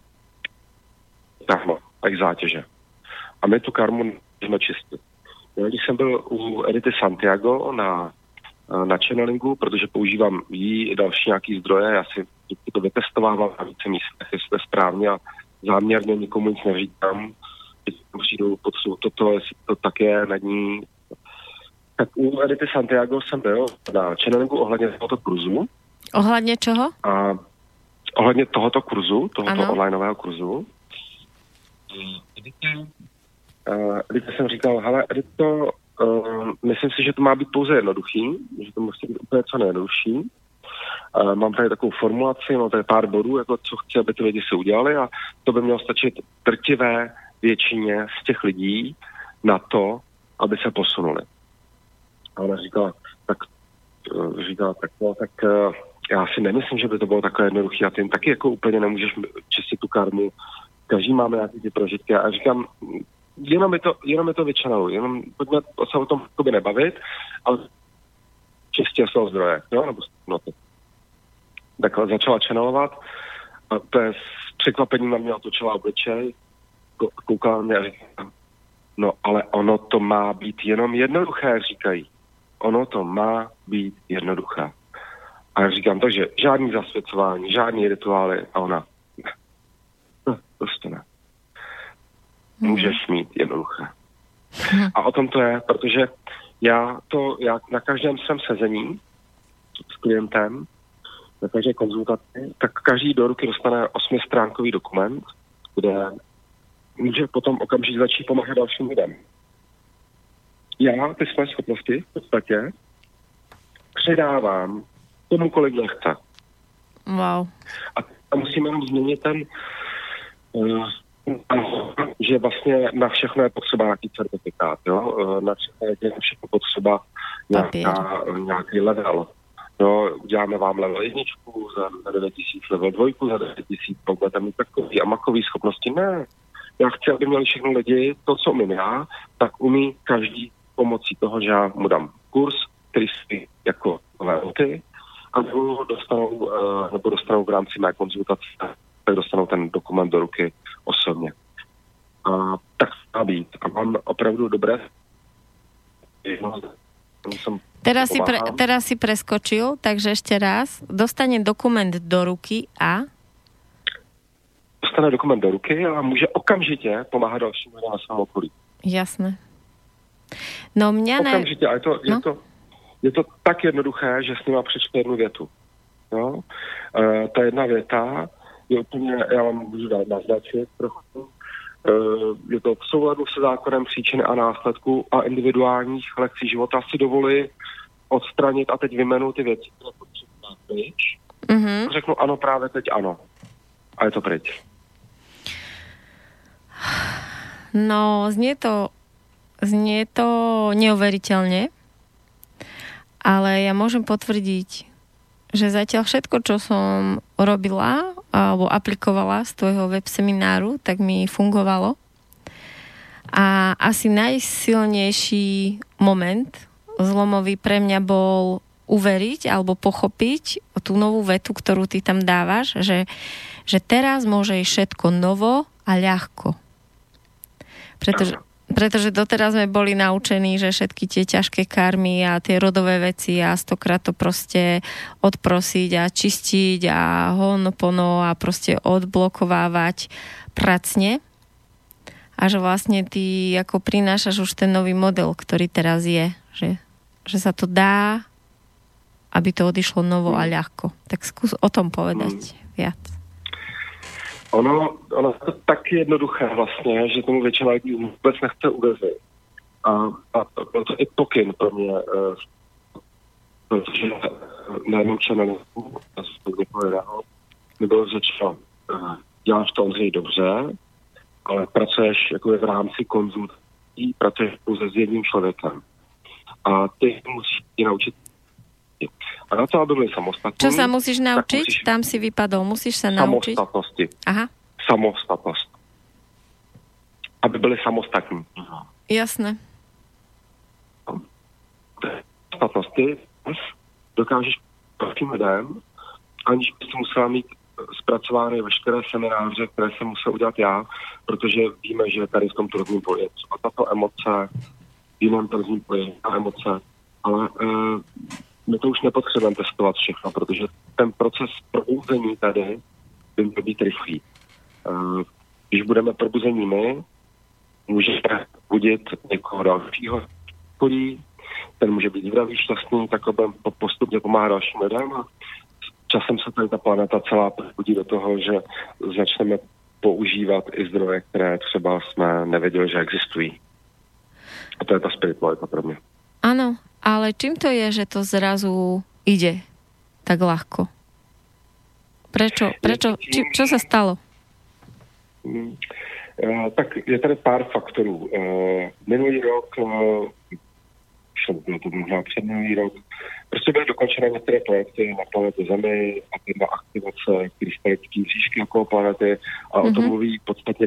karma a jejich zátěže. A my tu karmu můžeme čistit. Když jsem byl u Edity Santiago na channelingu, protože používám jí i další nějaký zdroje, já si to vytestovávám na více místech, jestli to je správně a záměrně nikomu nic neříkám, když přijdu potřebuji toto, jestli to tak je, na ní. Tak u Edity Santiago jsem byl na channelingu ohledně tohoto kurzu. Ohledně čeho? Ohledně tohoto kurzu, tohoto onlineového kurzu. Edita jsem říkal, hele Edito, myslím si, že to má být pouze jednoduchý, že to musí být úplně co nejjednodušší. Mám tady takovou formulaci, mám tady pár bodů, jako co chci, aby ty lidi se udělali a to by mělo stačit drtivé většině z těch lidí na to, aby se posunuli. A ona říkala, tak já si nemyslím, že by to bylo takové jednoduché a ty taky jako úplně nemůžeš čistit tu karmu. Každý máme nějaké ty prožitky a říkám, jenom je to vyčanou, jenom pojďme se o tom nebavit, ale čistě svého zdroje, jo, nebo no to. Tak začala channelovat a to je s překvapením na mě otočila obličej, koukala na mě a říkala, no ale ono to má být jenom jednoduché, říkají. Ono to má být jednoduché. A já říkám, takže žádný zasvěcování, žádný rituály a ona, ne, prostě ne. Můžeš mít jednoduché. A o tom to je, protože já na každém svém sezení s klientem, na každé konzultaci, tak každý do ruky dostane 8stránkový dokument, kde může potom okamžitě začít pomáhat dalším lidem. Já ty své schopnosti v podstatě předávám tomu, kolik nechce. Wow. A musíme jenom změnit ten že vlastně na všechno je potřeba nějaký certifikát, jo? Na všechno potřeba nějaký level. Jo? Uděláme vám level 1, za 9 000 level 2, za 9 000 budete mít takový a makový schopnosti. Ne. Já chci, aby měli všechno lidi, to, co umím já, tak umí každý pomocí toho, že já mu dám kurz, který si jako velky, a dostanou v rámci mé konzultace, tak dostanou ten dokument do ruky osobně. A tak má být. A mám opravdu dobré... Teraz si preskočil, takže ešte raz. Dostane dokument do ruky a... Dostane dokument do ruky a může okamžitě pomáhat dalším lidem na svém okolí. Jasné. No okamžitě. A je to tak jednoduché, že s nima přečte jednu větu. No? Ta jedna věta je úplně, já vám můžu dát naznačit trochu, je to v souladu se zákonem příčiny a následku a individuálních lekcí života si dovolí odstranit a teď vymenu ty věci, které potřebuji pryč. Mm-hmm. Řeknu ano, právě teď ano. A je to pryč. No, znie to neuveriteľne, ale ja môžem potvrdiť, že zatiaľ všetko, čo som robila alebo aplikovala z tvojho web semináru, tak mi fungovalo. A asi najsilnejší moment zlomový pre mňa bol uveriť alebo pochopiť tú novú vetu, ktorú ty tam dávaš, že teraz môže ísť všetko novo a ľahko. Pretože doteraz sme boli naučení, že všetky tie ťažké karmy a tie rodové veci a 100-krát to proste odprosiť a čistiť a honopono a proste odblokovávať pracne. A že vlastne ty ako prinášaš už ten nový model, ktorý teraz je. Že že sa to dá, aby to odišlo novo a ľahko. Tak skús o tom povedať viac. Ono je to tak jednoduché vlastně, že tomu většina lidí vůbec nechce uvěřit. A byl to i pokyn pro mě, protože na jednom channelu mi bylo řečeno, děláš to, Ondřej, dobře, ale pracuješ jako v rámci konzultací, pracuješ pouze s jedním člověkem. A ty musíš ti naučit. A na to, aby byli samostatní... Čo sa musíš naučiť? Tam si vypadol. Musíš sa naučiť? Samostatnosti. Aha. Samostatnost. Aby byli samostatní. Jasné. Samostatnosti dokážeš prostým lidem, aniž bys musela mít zpracovány veškeré semináře, které jsem musel udělat já, protože víme, že tady v tom tržním poli je třeba tato emoce, v jiném tržním poli a emoce, ale my to už nepotřebujeme testovat všechno, protože ten proces probouzení tady by měl být rychlý. Když budeme probuzení my, můžeme budit někoho dalšího, ten může být zdravý, šťastný, tak budeme postupně pomáhat dalším lidem a časem se tady ta planeta celá probudí do toho, že začneme používat i zdroje, které třeba jsme nevěděli, že existují. A to je ta spiritualita pro mě. Áno, ale čím to je, že to zrazu ide tak ľahko? Prečo? Čo sa stalo? Tak je tady pár faktorů. Minulý rok, bylo to možná předminulý rok, prostě byly dokončené některé projekty na planetě Zemi a jedna aktivace krystalické mřížky okolo planety a o tom mluví podstatně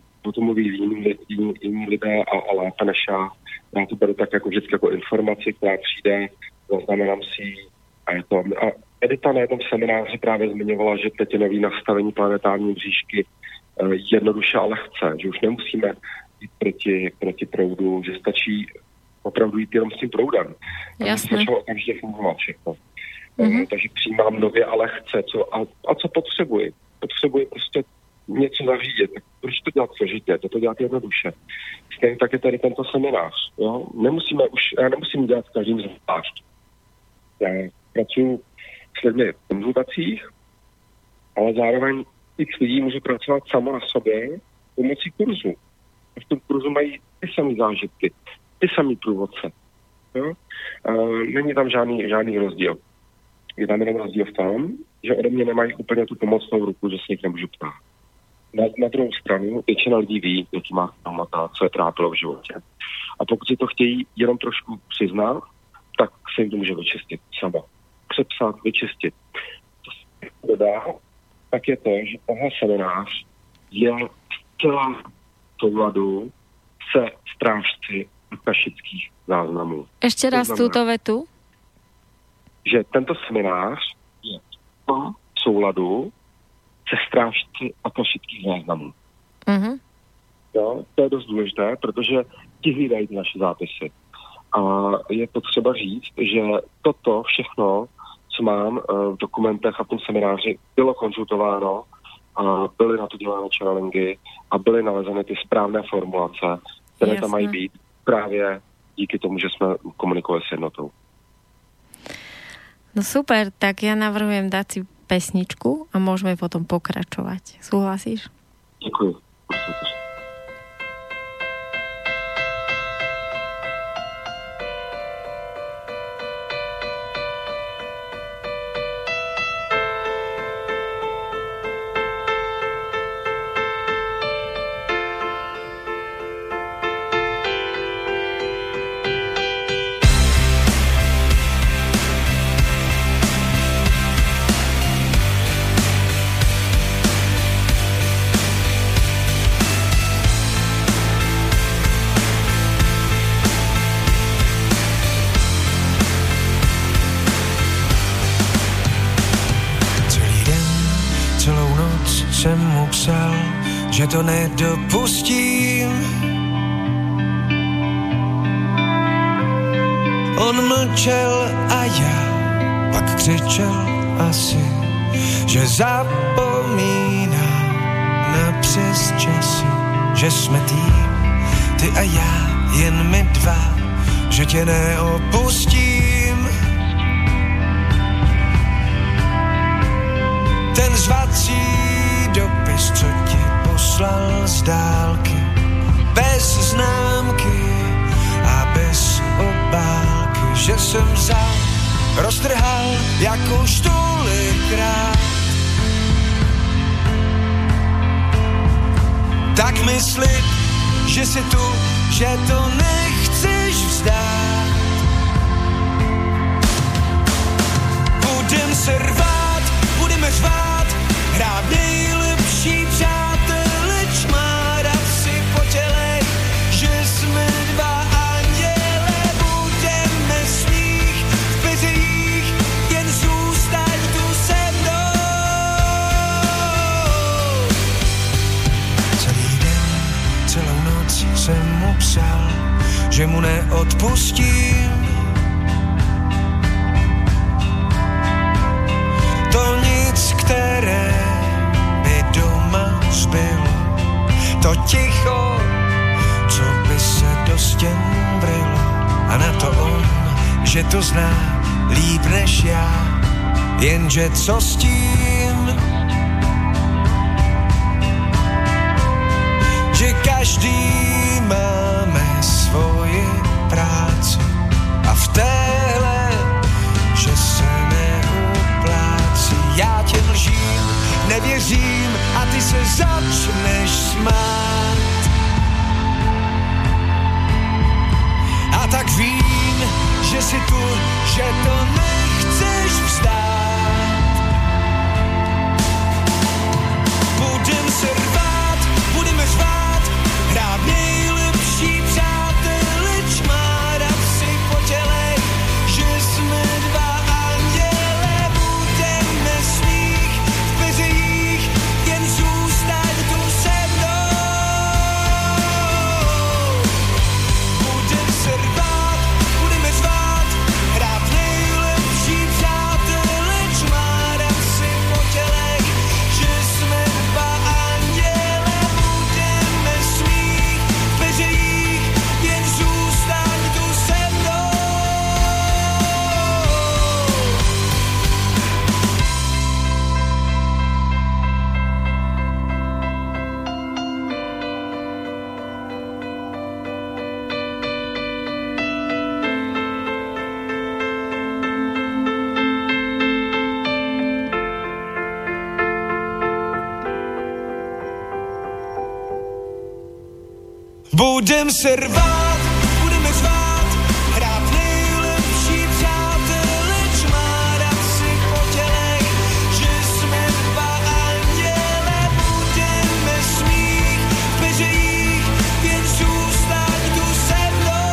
jiní lidé a lépe než já. Já to beru tak jako vždycky jako informaci, která přijde, zaznamenám si ji a je to. A Edita na jednom semináři právě zmiňovala, že teď je nový nastavení planetární mřížky jednoduše a lehce, že už nemusíme jít proti proudu, že stačí opravdu jít jenom s tím proudem. Jasné. Začalo okamžitě fungovat všechno. Takže přijímám nově a lehce. Co potřebuji? Potřebuji prostě něco zařídit. Tak proč to dělat složitě? To dělat jednoduše. Stejně tak je tady tento seminář. Jo? Já nemusím dělat každým zvlášť. Já pracuji s lidmi v konzultacích, ale zároveň x lidí může pracovat samo na sobě pomocí kurzu. V tom kurzu mají ty samé zážitky, ty samé průvodce. Jo? Není tam žádný rozdíl. Je tam jenom rozdíl v tom, že ode mě nemají úplně tu pomocnou ruku, že se jich nemůžu ptát. Na druhou stranu většina lidí ví, jaký má traumata, co je trápilo v životě. A pokud si to chtějí jenom trošku přiznat, tak se jim to může vyčistit sama. Přepsat, vyčistit. Co se dodá, tak je to, že tenhle seminář je zcela v souladu se strážci akashických záznamů. Ešte raz túto vetu. Že tento seminář je v souladu se strážci akashických záznamů. Jo, to je dost důležité, protože ti hlídají naše zápisy. A je potřeba říct, že toto všechno, co mám v dokumentech a v tom semináři, bylo konzultováno a byly na to dělány channelingy a byly nalezeny ty správné formulace, které tam mají být právě díky tomu, že jsme komunikovali s jednotou. No super, tak ja navrhujem dať si pesničku a môžeme potom pokračovať. Súhlasíš? Ďakujem. Že to nedopustím. On mlčel a já pak křičel asi, že zapomínám na přesčasy, že jsme tým, ty a já, jen my dva, že tě neopustím. Ten zvací dopis, co ti poslal z dálky, bez známky a bez obálky, že jsem vzal, roztrhal jako už tolikrát. Tak mi slib, že si tu, že to nechceš vzdát. Budem se rvát, budeme řvát, hrát nejlepší přátelé, čmárat si po tělech, že jsme dva anděle. Budeme smích v peřejích, jen zůstaň tu se mnou. Celý den, celou noc jsem mu psal, že mu neodpustím. To nic, které by doma zbylo, to ticho, co by se do stěn vrylo. A na to on, že to zná líp než já, jenže co s tím? Že každý máme svoji práci a v téhle, že se neuplácí. Já tě lžím, nevěřím a ty se začneš smát. A tak vím, že si tu, že to nechceš vzdát. Budem se rvát, budeme řvát, hrát nejlepší přátelé, čmárat si po tělech, že jsme dva anděle. Budeme smích v peřejích, jen zůstaň tu se mnou. Budem se rvát, budeme řvát, hrát nejlepší přátelé, čmárat si po tělech, že jsme dva anděle. Budeme smích v peřejích, jen zůstaň tu se mnou. Budem se rvát, budeme řvát, hrát nejlepší přátelé, čmárat si po tělech, že jsme dva anděle. Budeme smích v peřejích, jen zůstaň tu se mnou.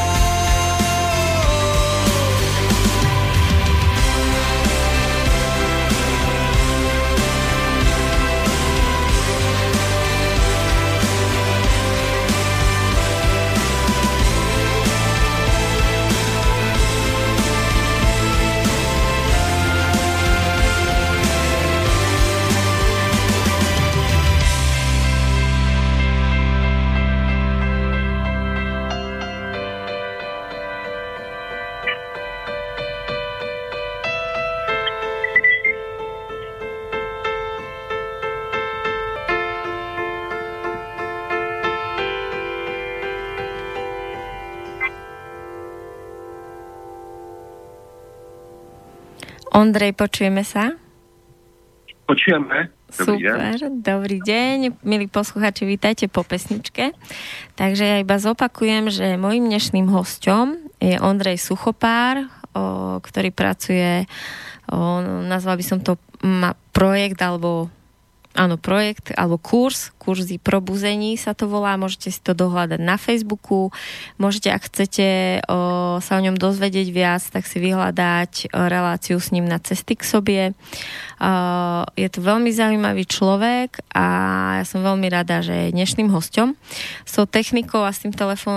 Ondrej, počujeme sa? Počujeme. Dobrý Super, deň. dobrý deň. Milí posluchači, vítajte po pesničke. Takže ja iba zopakujem, že mojím dnešným hosťom je Ondrej Suchopár, ktorý pracuje, nazval by som to projekt alebo kurzy probuzení sa to volá, môžete si to dohľadať na Facebooku, môžete, ak chcete sa o ňom dozvedieť viac, tak si vyhľadať reláciu s ním na Cesty k sobie. Je to veľmi zaujímavý človek a ja som veľmi rada, že je dnešným hosťom. S tou technikou a s tým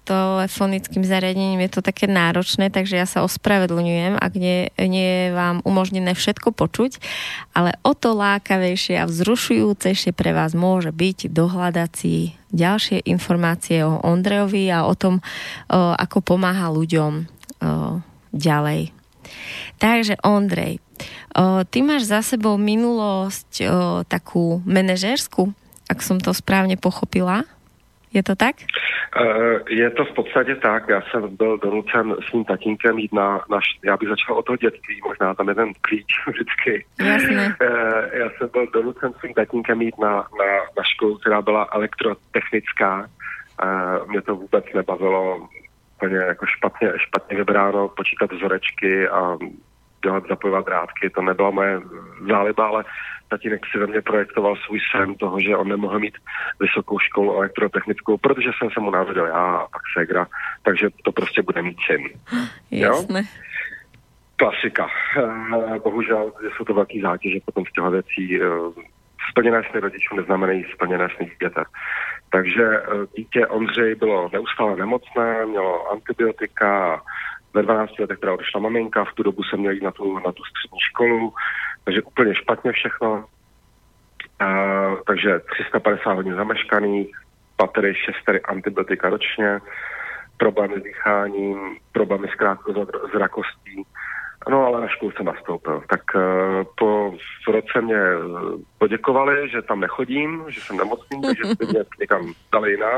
telefonickým zariadením je to také náročné, takže ja sa ospravedlňujem, ak nie je vám umožnené všetko počuť, ale o to lákavejšie a vzrušujúcejšie pre vás môže byť dohľadať si ďalšie informácie o Ondrejovi a o tom, ako pomáha ľuďom ďalej. Takže Ondrej, ty máš za sebou minulosť takú manažérskú, ak som to správne pochopila. Je to tak? Je to v podstatě tak. Já jsem byl donucen s tím tatínkem jít já bych začal od toho dětství, možná tam je ten klíč vždycky. Jasné. Já jsem byl donucen s tím tatínkem jít na školu, která byla elektrotechnická. Mě to vůbec nebavilo, úplně jako špatně vybráno, počítat vzorečky a zapojovat drátky, to nebyla moje záliba, ale tatínek si ve mně projektoval svůj sen toho, že on nemohl mít vysokou školu elektrotechnickou, protože jsem se mu narodil já a pak ségra, takže to prostě bude mít syn. Jasné. Jo? Klasika. Bohužel jsou to velký zátěže potom z těchto věcí. Splněné sny rodičů neznamenají splněné sny dítěte. Takže dítě Ondřej bylo neustále nemocné, mělo antibiotika, ve 12 letech teda odešla maminka, v tu dobu jsem měl jít na tu střední školu, takže úplně špatně všechno. Takže 350 hodin zameškaných, patery 6 antibiotika ročně, problémy s dýcháním, problémy s krátkozrakostí. No ale na školu jsem nastoupil. Tak po roce mě poděkovali, že tam nechodím, že jsem nemocný, takže by mě někam dali jinam.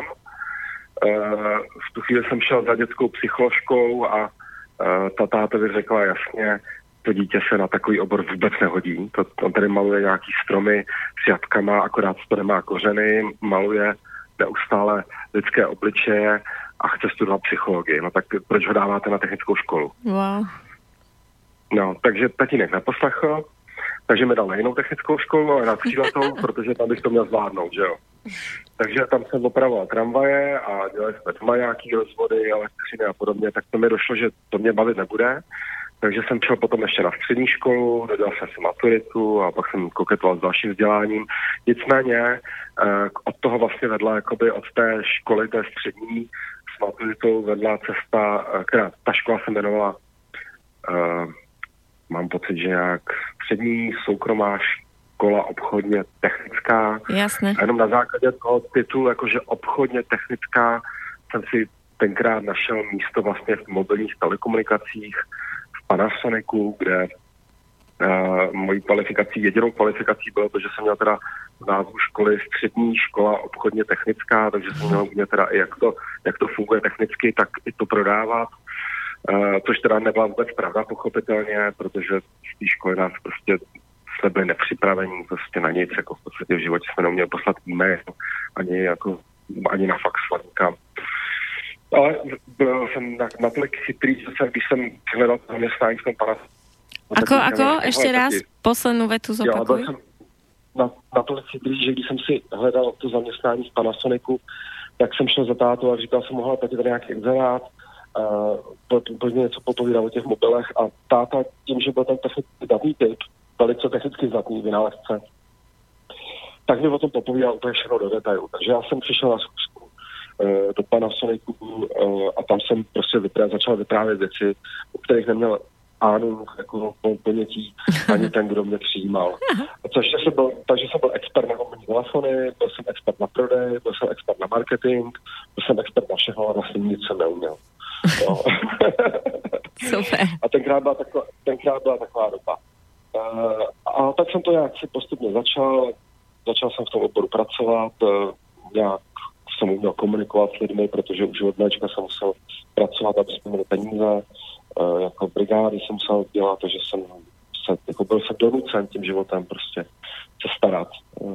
V tu chvíli jsem šel za dětskou psycholožkou a ta tátovi řekla jasně, to dítě se na takový obor vůbec nehodí. On tady maluje nějaký stromy s jatkama, akorát to nemá kořeny, maluje neustále lidské obličeje a chce studovat psychologii. No tak proč ho dáváte na technickou školu? Wow. No, takže tatínek neposlechl, takže mi dal na jinou technickou školu, ale na tříletou, protože tam bych to měl zvládnout, že jo. Takže tam jsem opravoval tramvaje a dělali jsme doma nějaký rozvody, elektřiny a podobně, tak to mi došlo, že to mě bavit nebude. Takže jsem šel potom ještě na střední školu, dodělal jsem si maturitu a pak jsem koketoval s dalším vzděláním. Nicméně od toho vlastně vedla, jakoby od té školy, té střední, s maturitou vedla cesta, která ta škola se jmenovala, mám pocit, že jak střední soukromá škola obchodně technická. Jasné. A jenom na základě toho titulu, jakože obchodně technická, jsem si tenkrát našel místo vlastně v mobilních telekomunikacích v Panasonicu, kde mojí kvalifikací, jedinou kvalifikací bylo to, že jsem měl teda v názvu školy střední škola obchodně technická, takže jsem měl umět teda i jak to funguje technicky, tak i to prodávat. Což teda nebyla vůbec pravda, pochopitelně, protože z té školy nás prostě jsme byli nepřipravení prostě na nic, jako v podstatě v životě jsme neuměli poslat e-mail, ani na fax nikam. Ale byl jsem natolik chytrý, že když jsem hledal zaměstnání v tom Panasonicu. Ako? Ešte raz poslednú vetu zopakuj. Ja, jsem natolik chytrý, že když jsem si hledal to zaměstnání v Panasonicu, tak jsem šel za tátu a říkal jsem, mohla tady nějaký inzerát, úplně něco popovídal o těch mobilech a táta tím, že byl ten technický typ, velice technicky zdatný vynálezce, tak mi o tom popovídal úplně všechno do detailu. Takže já jsem přišel na zkusku do Panasonicu a tam jsem prostě začal vyprávět věci, o kterých neměl jako ponětí ani ten, kdo mě přijímal. Takže jsem byl expert na mobilní telefony, byl jsem expert na prodej, byl jsem expert na marketing, byl jsem expert na všechno, ale vlastně nic jsem neuměl. No. Super. A tenkrát byla taková doba. A tak jsem to nějak si postupně začal jsem v tom oboru pracovat, nějak jsem uměl komunikovat s lidmi, protože už od malička jsem musel pracovat, aby jsme měli peníze, jako brigády jsem musel dělat, takže byl jsem donucen tím životem prostě se starat.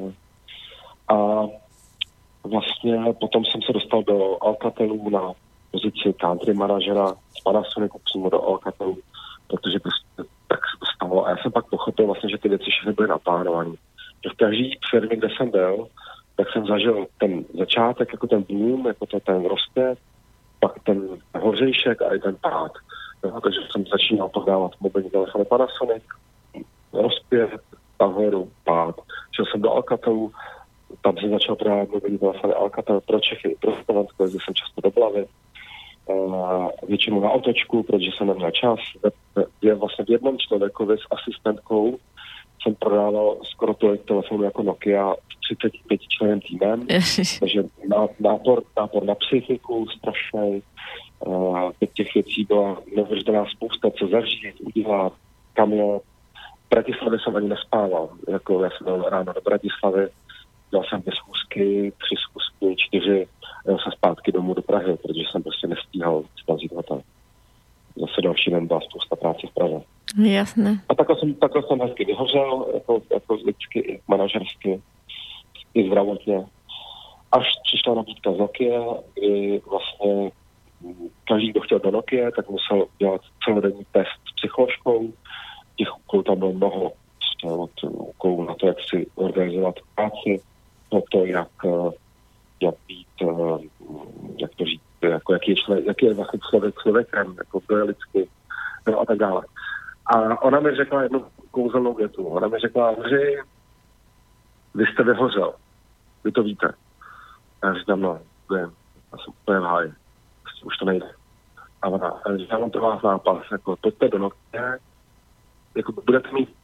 A vlastně potom jsem se dostal do Alcatelu na pozici country manažera z Panasonicu přímo do Alcatelu, protože prostě tak se to stalo. A já jsem pak pochopil vlastně, že ty věci všechny byly naplánované. Že v každé firmě, kde jsem byl, tak jsem zažil ten začátek, jako ten boom, jako ten rozpět, pak ten hořejšek a i ten pád. No, takže jsem začínal prodávat mobilní telefony Panasonic, rozpět, nahoru, pád. Šel jsem do Alcatelu, tam jsem začal prodávat mobilní telefony Alcatel pro Čechy, pro Slovensko, jezdil jsem často do Blavy. většinou na otočku, protože jsem neměl čas. Je vlastně v jednom člověkovi s asistentkou jsem prodával skoro tolik telefonů jako Nokia s 35 členem týmem, takže nápor na psychiku strašný. Těch věcí byla neuvěřitelná spousta, co zařídit, udělat, kam je. V Bratislavě jsem ani nespával, jako já jsem byl ráno do Bratislavy, dělal jsem 2 schůzky, 3 schůzky, 4, jel jsem zpátky domů do Prahy, protože jsem prostě nestíhal spazit hotel. Zase další den byla spousta práce v Praze. Jasné. A takhle jsem hezky vyhořel, jako lidsky i manažersky, i zdravotně. Až přišla nabídka z Nokia, kdy vlastně každý, kdo chtěl do Nokia, tak musel dělat celodenní test s psycholožkou. Těch úkolů tam bylo mnoho. Od úkolů na to, jak si organizovat práci, no to, jak být, jak to říct, jako jaký je vlastně člověkem, jako to je lidsky, no a tak dále. A ona mi řekla jednu kouzelnou větu. Ona mi řekla, Andřej, vy jste vyhořel. Vy to víte. A já říkám, no, vím. Já jsem úplně v háji. Už to nejde. A ona, já mám pro vás nápad, jako pojďte do Nokia, jako budete mít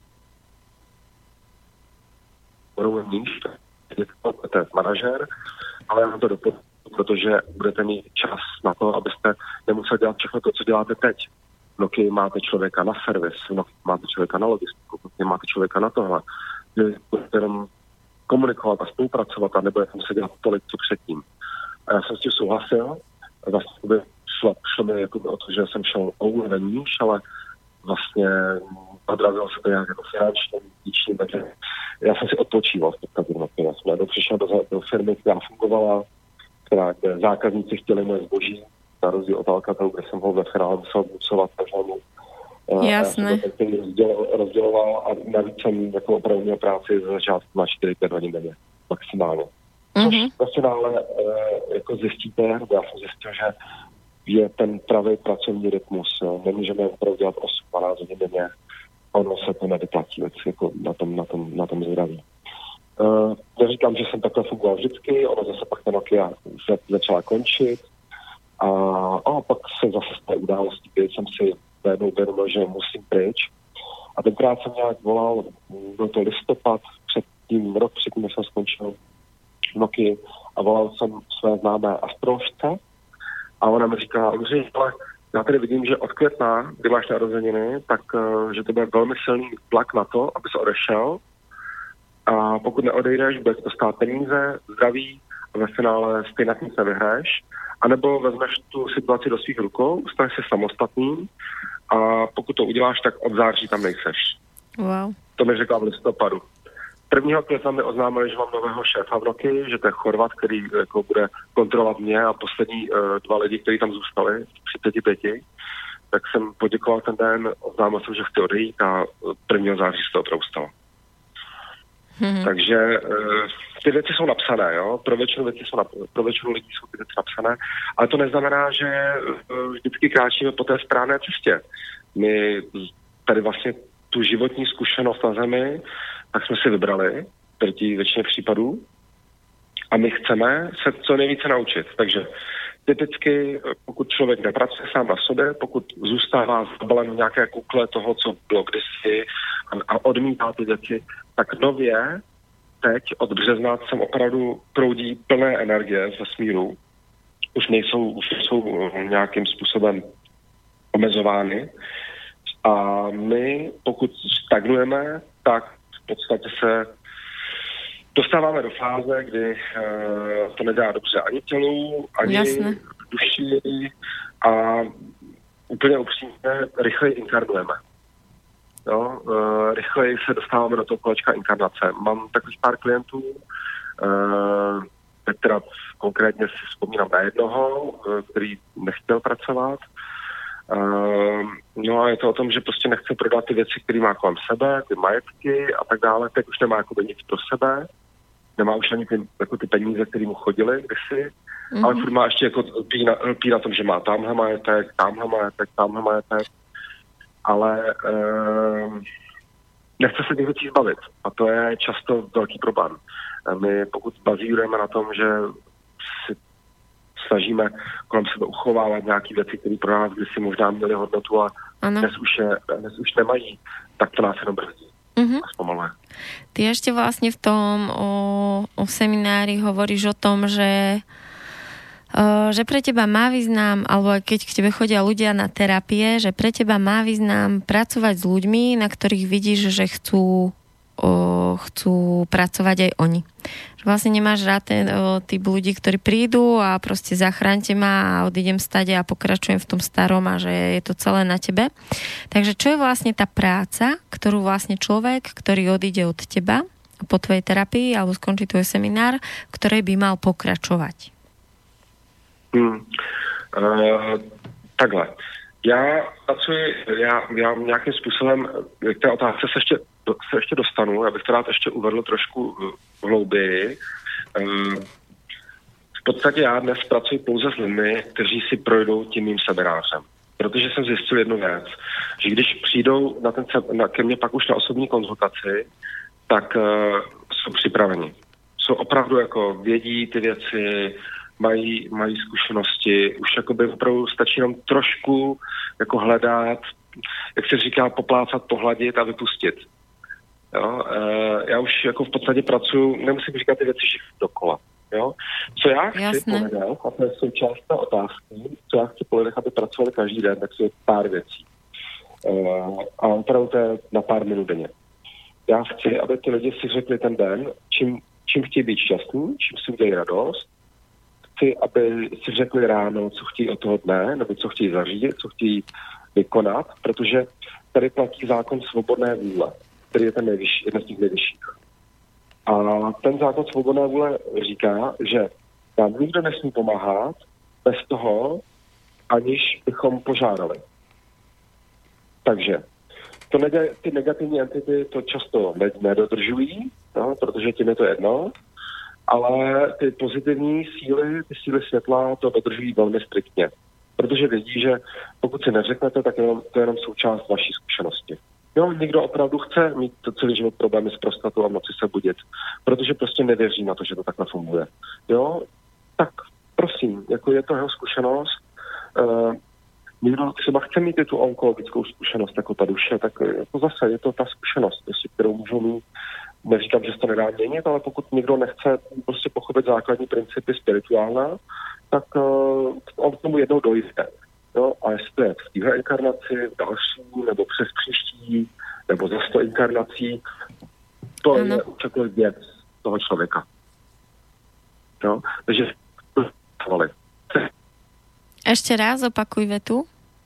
níž, budete manažer, ale já vám to doporučuji, protože budete mít čas na to, abyste nemuseli dělat všechno to, co děláte teď. V Nokia máte člověka na servis, v Nokia máte člověka na logistiku, v Nokia máte člověka na tohle. Budete jenom komunikovat a spolupracovat a nebudete muset dělat tolik, co předtím. A já jsem s tím souhlasil. Vlastně šlo mi jako o to, že jsem šel o úroveň níž, ale vlastně odrazilo se to nějak jako finančně, díčně, takže já jsem si odpočíval v podstatě na Nokia. Já jsem přišel do firmy, která fungovala, kde zákazníci chtěli moje zboží, na rozdíl od Alcatelu, kde jsem ho ve finále musel bucovat každému. Jasné. Já jsem to rozděloval a navíc jsem jako opravdu měl práci za začátku na 4-5 hodin denně, maximálně. Což ve finále jako zjistíte, já jsem zjistil, že je ten pravý pracovní rytmus. Nemůžeme opravdu dělat 8-12 hodin denně. Ono se to nevyplatí jako na tom zdraví. Neříkám, že jsem takhle fungoval vždycky, ono zase pak ta Nokia začala končit a pak se zase z té události, kdy jsem si najednou uvědomil, že musím pryč. A tenkrát jsem nějak volal, byl to listopad, rok předtím, než jsem skončil Nokia a volal jsem své známé astroložce a ona mi říkala, Ondřej, ale já tady vidím, že od května, kdy máš narozeniny, tak že to bude velmi silný tlak na to, aby se odešel. A pokud neodejdeš, bude to stát peníze, zdraví a ve finále stejně nic nevyhraješ. A nebo vezmeš tu situaci do svých rukou, staneš se samostatný a pokud to uděláš, tak od září tam nejseš. Wow. To mi řekla v listopadu. 1. května mi oznámili, že mám nového šéfa v Nokii, že to je Chorvat, který jako bude kontrolovat mě a poslední 2 lidi, kteří tam zůstali, 35. Tak jsem poděkoval ten den, oznámil jsem, že chci odejít a 1. září se to opravdu stalo. Takže ty věci jsou napsané, jo? Pro většinu lidí jsou ty věci napsané, ale to neznamená, že vždycky kráčíme po té správné cestě. My tady vlastně tu životní zkušenost na zemi, tak jsme si vybrali, proti většině případů, a my chceme se co nejvíce naučit. Takže typicky, pokud člověk nepracuje sám na sobě, pokud zůstává zabalen v nějaké kukle toho, co bylo kdysi a odmítá ty věci, tak nově teď od března sem opravdu proudí plné energie z vesmíru. Už nejsou nějakým způsobem omezovány. A my, pokud stagnujeme, tak v podstatě se dostáváme do fáze, kdy to nedá dobře ani tělu, ani duši a úplně upřímně rychleji inkarnujeme. Jo? Rychleji se dostáváme do toho kolečka inkarnace. Mám takových pár klientů, teda konkrétně si vzpomínám na jednoho, který nechtěl pracovat. No a je to o tom, že prostě nechce prodat ty věci, které má kolem sebe, ty majetky a tak dále. Teď už nemá jakoby nic pro sebe, nemá už ani ty peníze, které mu chodily kdysi, ale furt má ještě jako lpí na tom, že má tamhle majetek, ale nechce se těch věcí zbavit a to je často velký problém. My pokud bazírujeme na tom, že snažíme kolem sebe uchovávat nějaké věci, které pro nás kdysi možná měly hodnotu a dnes už nemají, tak to nás jenom brzdí. Zpomaluje. Ty ešte vlastne v tom o seminári hovoríš o tom, že pre teba má význam, alebo keď k tebe chodia ľudia na terapie, že pre teba má význam pracovať s ľuďmi, na ktorých vidíš, že chcú pracovať aj oni. Že vlastne nemáš rád ten typ ľudí, ktorí prídu a proste zachránte ma a odídem stade a pokračujem v tom starom a že je to celé na tebe. Takže čo je vlastne tá práca, ktorú vlastne človek, ktorý odíde od teba po tvojej terapii alebo skončí tvoj seminár, v ktorej by mal pokračovať? Takhle. Já nějakým způsobem k té otázce se ještě dostanu, abych to rád ještě uvedl trošku hlouběji. V podstatě já dnes pracuji pouze s lidmi, kteří si projdou tím mým seminářem. Protože jsem zjistil jednu věc, že když přijdou ke mně pak už na osobní konzultaci, tak jsou připraveni. Jsou opravdu jako vědí ty věci, mají zkušenosti, už jakoby opravdu stačí jenom trošku jako hledat, jak se říká, poplácat, pohladit a vypustit. Jo? Já už jako v podstatě pracuji, nemusím říkat ty věci všechny dokola. Jo? Co já chci po lidech, a to je součást té otázky, co já chci po lidech, aby pracovali každý den, tak je pár věcí. A opravdu to je na pár minut denně. Já chci, aby ty lidi si řekli ten den, čím chtějí být šťastní, čím si udělají radost. Chci, aby si řekli ráno, co chtějí od toho dne, nebo co chtějí zařídit, co chtějí vykonat, protože tady platí zákon svobodné vůle, který je ten nejvyšší, jeden z těch nejvyšších. A ten zákon svobodné vůle říká, že nám nikdo nesmí pomáhat bez toho, aniž bychom požádali. Takže ty negativní entity to často nedodržují, no, protože tím je to jedno, ale ty pozitivní síly, ty síly světla to dodržují velmi striktně. Protože vědí, že pokud si neřeknete, tak to je jenom součást vaší zkušenosti. Jo, někdo opravdu chce mít celý život problémy s prostatou a v noci se budit, protože prostě nevěří na to, že to takhle funguje. Jo, tak prosím, jako je to jeho zkušenost. Někdo třeba chce mít i tu onkologickou zkušenost jako ta duše, tak jako zase je to ta zkušenost, kterou můžou mít. Neříkám, že se to nedá měnit, ale pokud někdo nechce prostě pochopit základní principy spirituálna, tak on k tomu jednou dojde. Jo? A jestli to je v téhle inkarnaci, v další, nebo přes příští, nebo za 100 inkarnací, to je určitě věc toho člověka. Jo? Takže ešte raz opakuj vetu.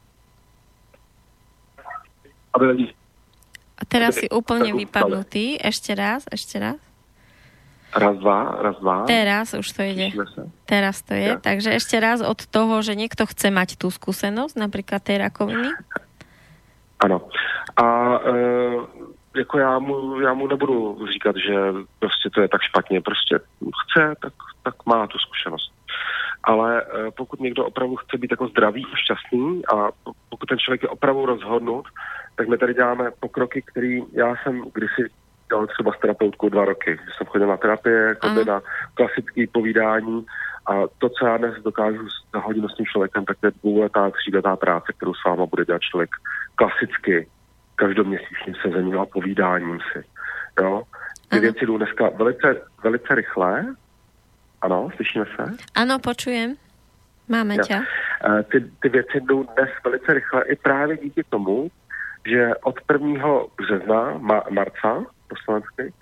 A teraz si úplne vypadnutý. Ešte raz. Raz, dva. Teraz už to ide. Teraz to je. Ja. Takže ešte raz od toho, že niekto chce mať tú skúsenosť, napríklad tej rakoviny. Ano. A jako já mu nebudu říkat, že prostě to je tak špatně. Prostě chce, tak má tu zkušenost. Ale pokud někdo opravdu chce být jako zdravý a šťastný a pokud ten člověk je opravdu rozhodnut, tak my tady děláme pokroky, který já jsem kdysi dělal třeba s terapeutkou 2 roky. Jsem chodil na terapie, na klasické povídání a to, co já dnes dokážu za hodinu s tím člověkem, tak to je 2letá, 3letá práce, kterou s váma bude dělat člověk klasicky, každoměsíčním sezením a povídáním si. Jo? Ty věci jdou dneska velice rychle. Ano, slyšíme se? Ano, počujem. Máme tě. Ty věci jdou dnes velice rychle i právě díky tomu, že od 1. března, marca, po slovensky,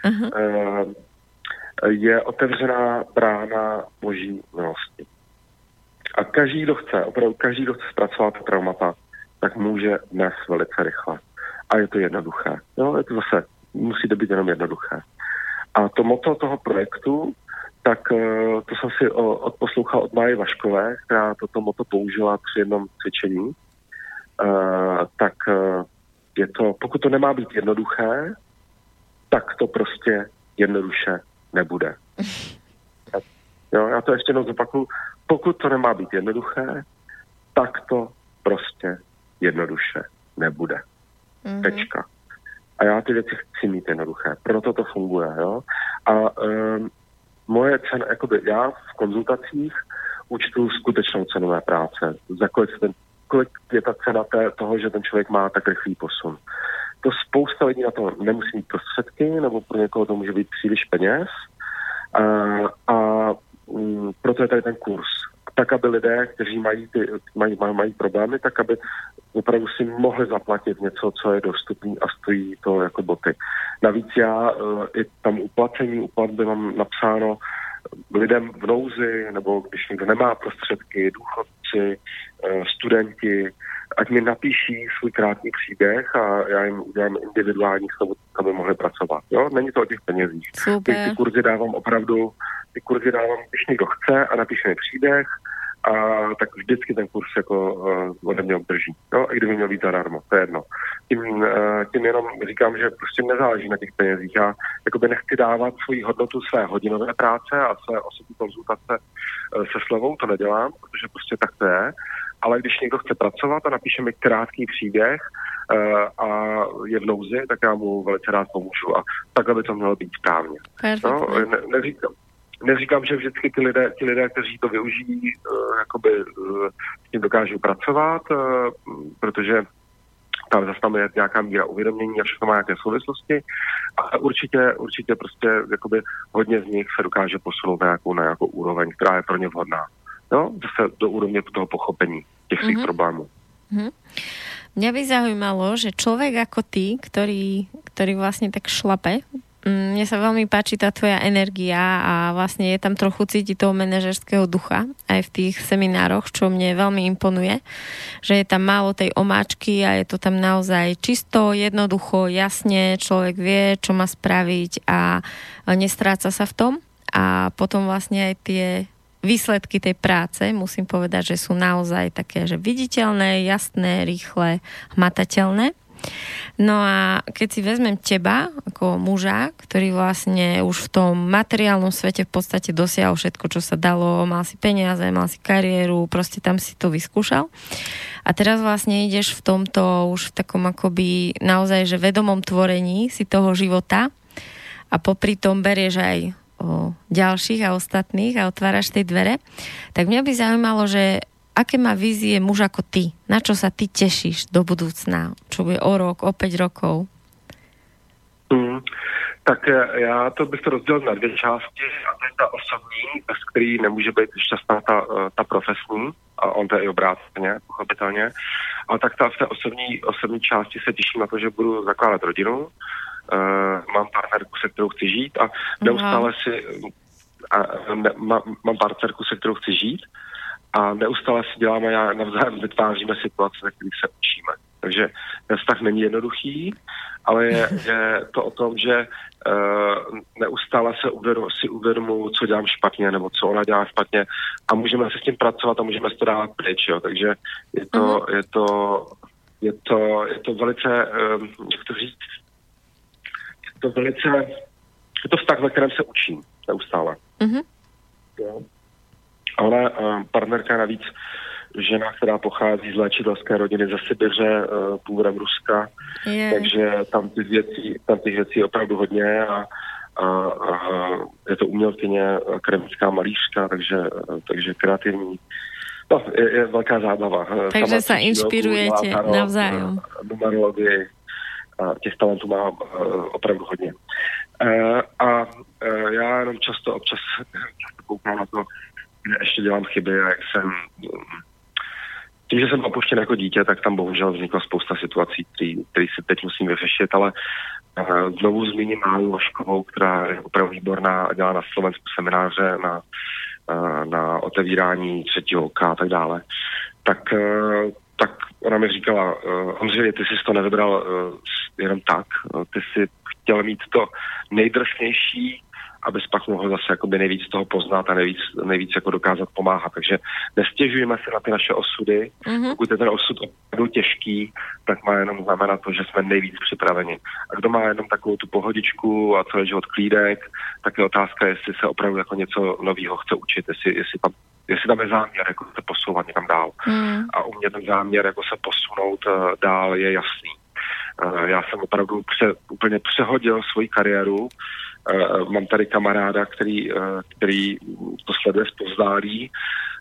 je otevřená brána boží milosti. A každý, kdo chce zpracovat traumata, tak může dnes velice rychle. A je to jednoduché. Jo, je to zase, musí to být jenom jednoduché. A to motto toho projektu, tak to jsem si odposlouchal od Máje Vaškové, která toto motto použila při jednom cvičení. Tak je to, pokud to nemá být jednoduché, tak to prostě jednoduše nebude. Jo, já to ještě jednou zopakuju. Pokud to nemá být jednoduché, tak to prostě jednoduše nebude. Tečka. A já ty věci chci mít jednoduché. Proto to funguje. Jo? A moje cena, jakoby já v konzultacích účtu skutečnou cenu mé práce. Za kolik je ta cena toho, že ten člověk má tak rychlý posun. To spousta lidí na to nemusí mít prostředky, nebo pro někoho to může být příliš peněz. A proto je tady ten kurz. Tak, aby lidé, kteří mají problémy, tak, aby opravdu si mohli zaplatit něco, co je dostupný a stojí to jako boty. Navíc já i tam u platby mám napsáno lidem v nouzi, nebo když někdo nemá prostředky, důchodci, studenti, ať mi napíší svůj krátký příběh a já jim udělám individuální slovo, aby mohli pracovat. Jo? Není to o těch penězích. Ty kurzy dávám opravdu, když někdo chce a napíše mi příběh, a tak vždycky ten kurz jako ode mě obdrží. No, i kdyby měl být zadarmo, to je jedno. Tím jenom říkám, že prostě nezáleží na těch penězích. Já jakoby nechci dávat svoji hodnotu své hodinové práce a své osobní konzultace se slevou, to nedělám, protože prostě tak to je. Ale když někdo chce pracovat a napíše mi krátký příběh a je v nouzi, tak já mu velice rád pomůžu. A takhle by to mělo být správně. No, neříkám, že vždycky ti lidé, kteří to využijí, jakoby s tím dokážou pracovat, protože tam zase tam je nějaká míra uvědomění a všechno má nějaké souvislosti, ale určitě prostě jakoby hodně z nich se dokáže posunout na nějakou úroveň, která je pro ně vhodná. No, zase do úrovně toho pochopení těch svých problémů. Mňa by zaujímalo, že človek ako ty, ktorý vlastne tak šlape, mne sa veľmi páči tá tvoja energia a vlastne je tam trochu cítiť toho manažerského ducha aj v tých seminároch, čo mne veľmi imponuje, že je tam málo tej omáčky a je to tam naozaj čisto, jednoducho, jasne, človek vie, čo má spraviť a nestráca sa v tom a potom vlastne aj tie výsledky tej práce, musím povedať, že sú naozaj také, že viditeľné, jasné, rýchle, hmatateľné. No a keď si vezmem teba ako muža, ktorý vlastne už v tom materiálnom svete v podstate dosiahol všetko, čo sa dalo, mal si peniaze, mal si kariéru, proste tam si to vyskúšal. A teraz vlastne ideš v tomto už v takom akoby naozaj, že vedomom tvorení si toho života a popri tom berieš aj o ďalších a ostatných a otváraš tej dvere, tak mňa by zaujímalo, že aké má vízie muž ako ty? Na čo sa ty tešíš do budúcna? Čo bude o rok, o 5 rokov? Tak já to bych to rozdělil na dvě části a to je ta osobní, bez který nemůže být šťastná ta profesní a on to je i obráceně, pochopitelně. Ale tak v té osobní části se těším na to, že budu zakládat rodinu. Mám partnerku, se kterou chci žít a neustále mám partnerku, se kterou chci žít a neustále si děláme a navzájem vytváříme situace, ve kterých se učíme. Takže ten vztah není jednoduchý, ale je to o tom, že neustále si uvědomuji, co dělám špatně, nebo co ona dělá špatně a můžeme se s tím pracovat a můžeme se to dávat pryč, jo. Takže je to velice, jak to říct, je to vztah, ve kterém se učím neustále. A ona, partnerka navíc, žena, která pochází z léčitelské rodiny ze Sibiře, původem Ruska, takže tam těch věcí je opravdu hodně a je to umělkyně, akademická malířka, takže kreativní. No, je velká zábava. Takže sa inšpirujete navzájom. Numerologii. Těch talentů mám opravdu hodně. A já jenom občas koukám na to, kde ještě dělám chyby a jak tím, že jsem opuštěn jako dítě, tak tam bohužel vznikla spousta situací, které si teď musím vyřešit, ale znovu zmíním Máju Vaškovou, která je opravdu výborná a dělá na Slovensku semináře na otevírání třetího oka a tak dále. Tak ona mi říkala, Ondřej, ty jsi to nevybral jenom tak, ty jsi chtěl mít to nejdrsnější, abys pak mohl zase jakoby nejvíc toho poznat a nejvíc jako dokázat pomáhat. Takže nestěžujeme se na ty naše osudy. Pokud je ten osud opravdu těžký, tak má jenom znamenat to, že jsme nejvíc připraveni. A kdo má jenom takovou tu pohodičku a celý život klídek, tak je otázka, jestli se opravdu jako něco nového chce učit, jestli tam je záměr jako se posouvat někam dál. A u mě ten záměr jako se posunout dál je jasný. Já jsem opravdu úplně přehodil svoji kariéru. Mám tady kamaráda, který to sleduje zpovzdálí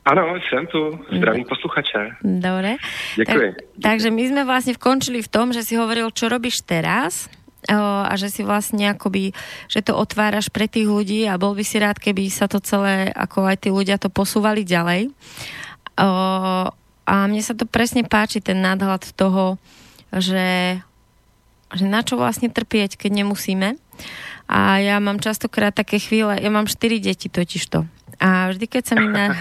Ano, jsem tu. Zdravím posluchače. Dobre. Ďakujem. Takže my sme vlastne vkončili v tom, že si hovoril, čo robíš teraz a že si vlastne akoby, že to otváraš pre tých ľudí a bol by si rád, keby sa to celé, ako aj tí ľudia to posúvali ďalej. A mne sa to presne páči, ten nadhľad toho, že na čo vlastne trpieť, keď nemusíme. A ja mám častokrát také chvíle, ja mám 4 deti totižto. A vždy, keď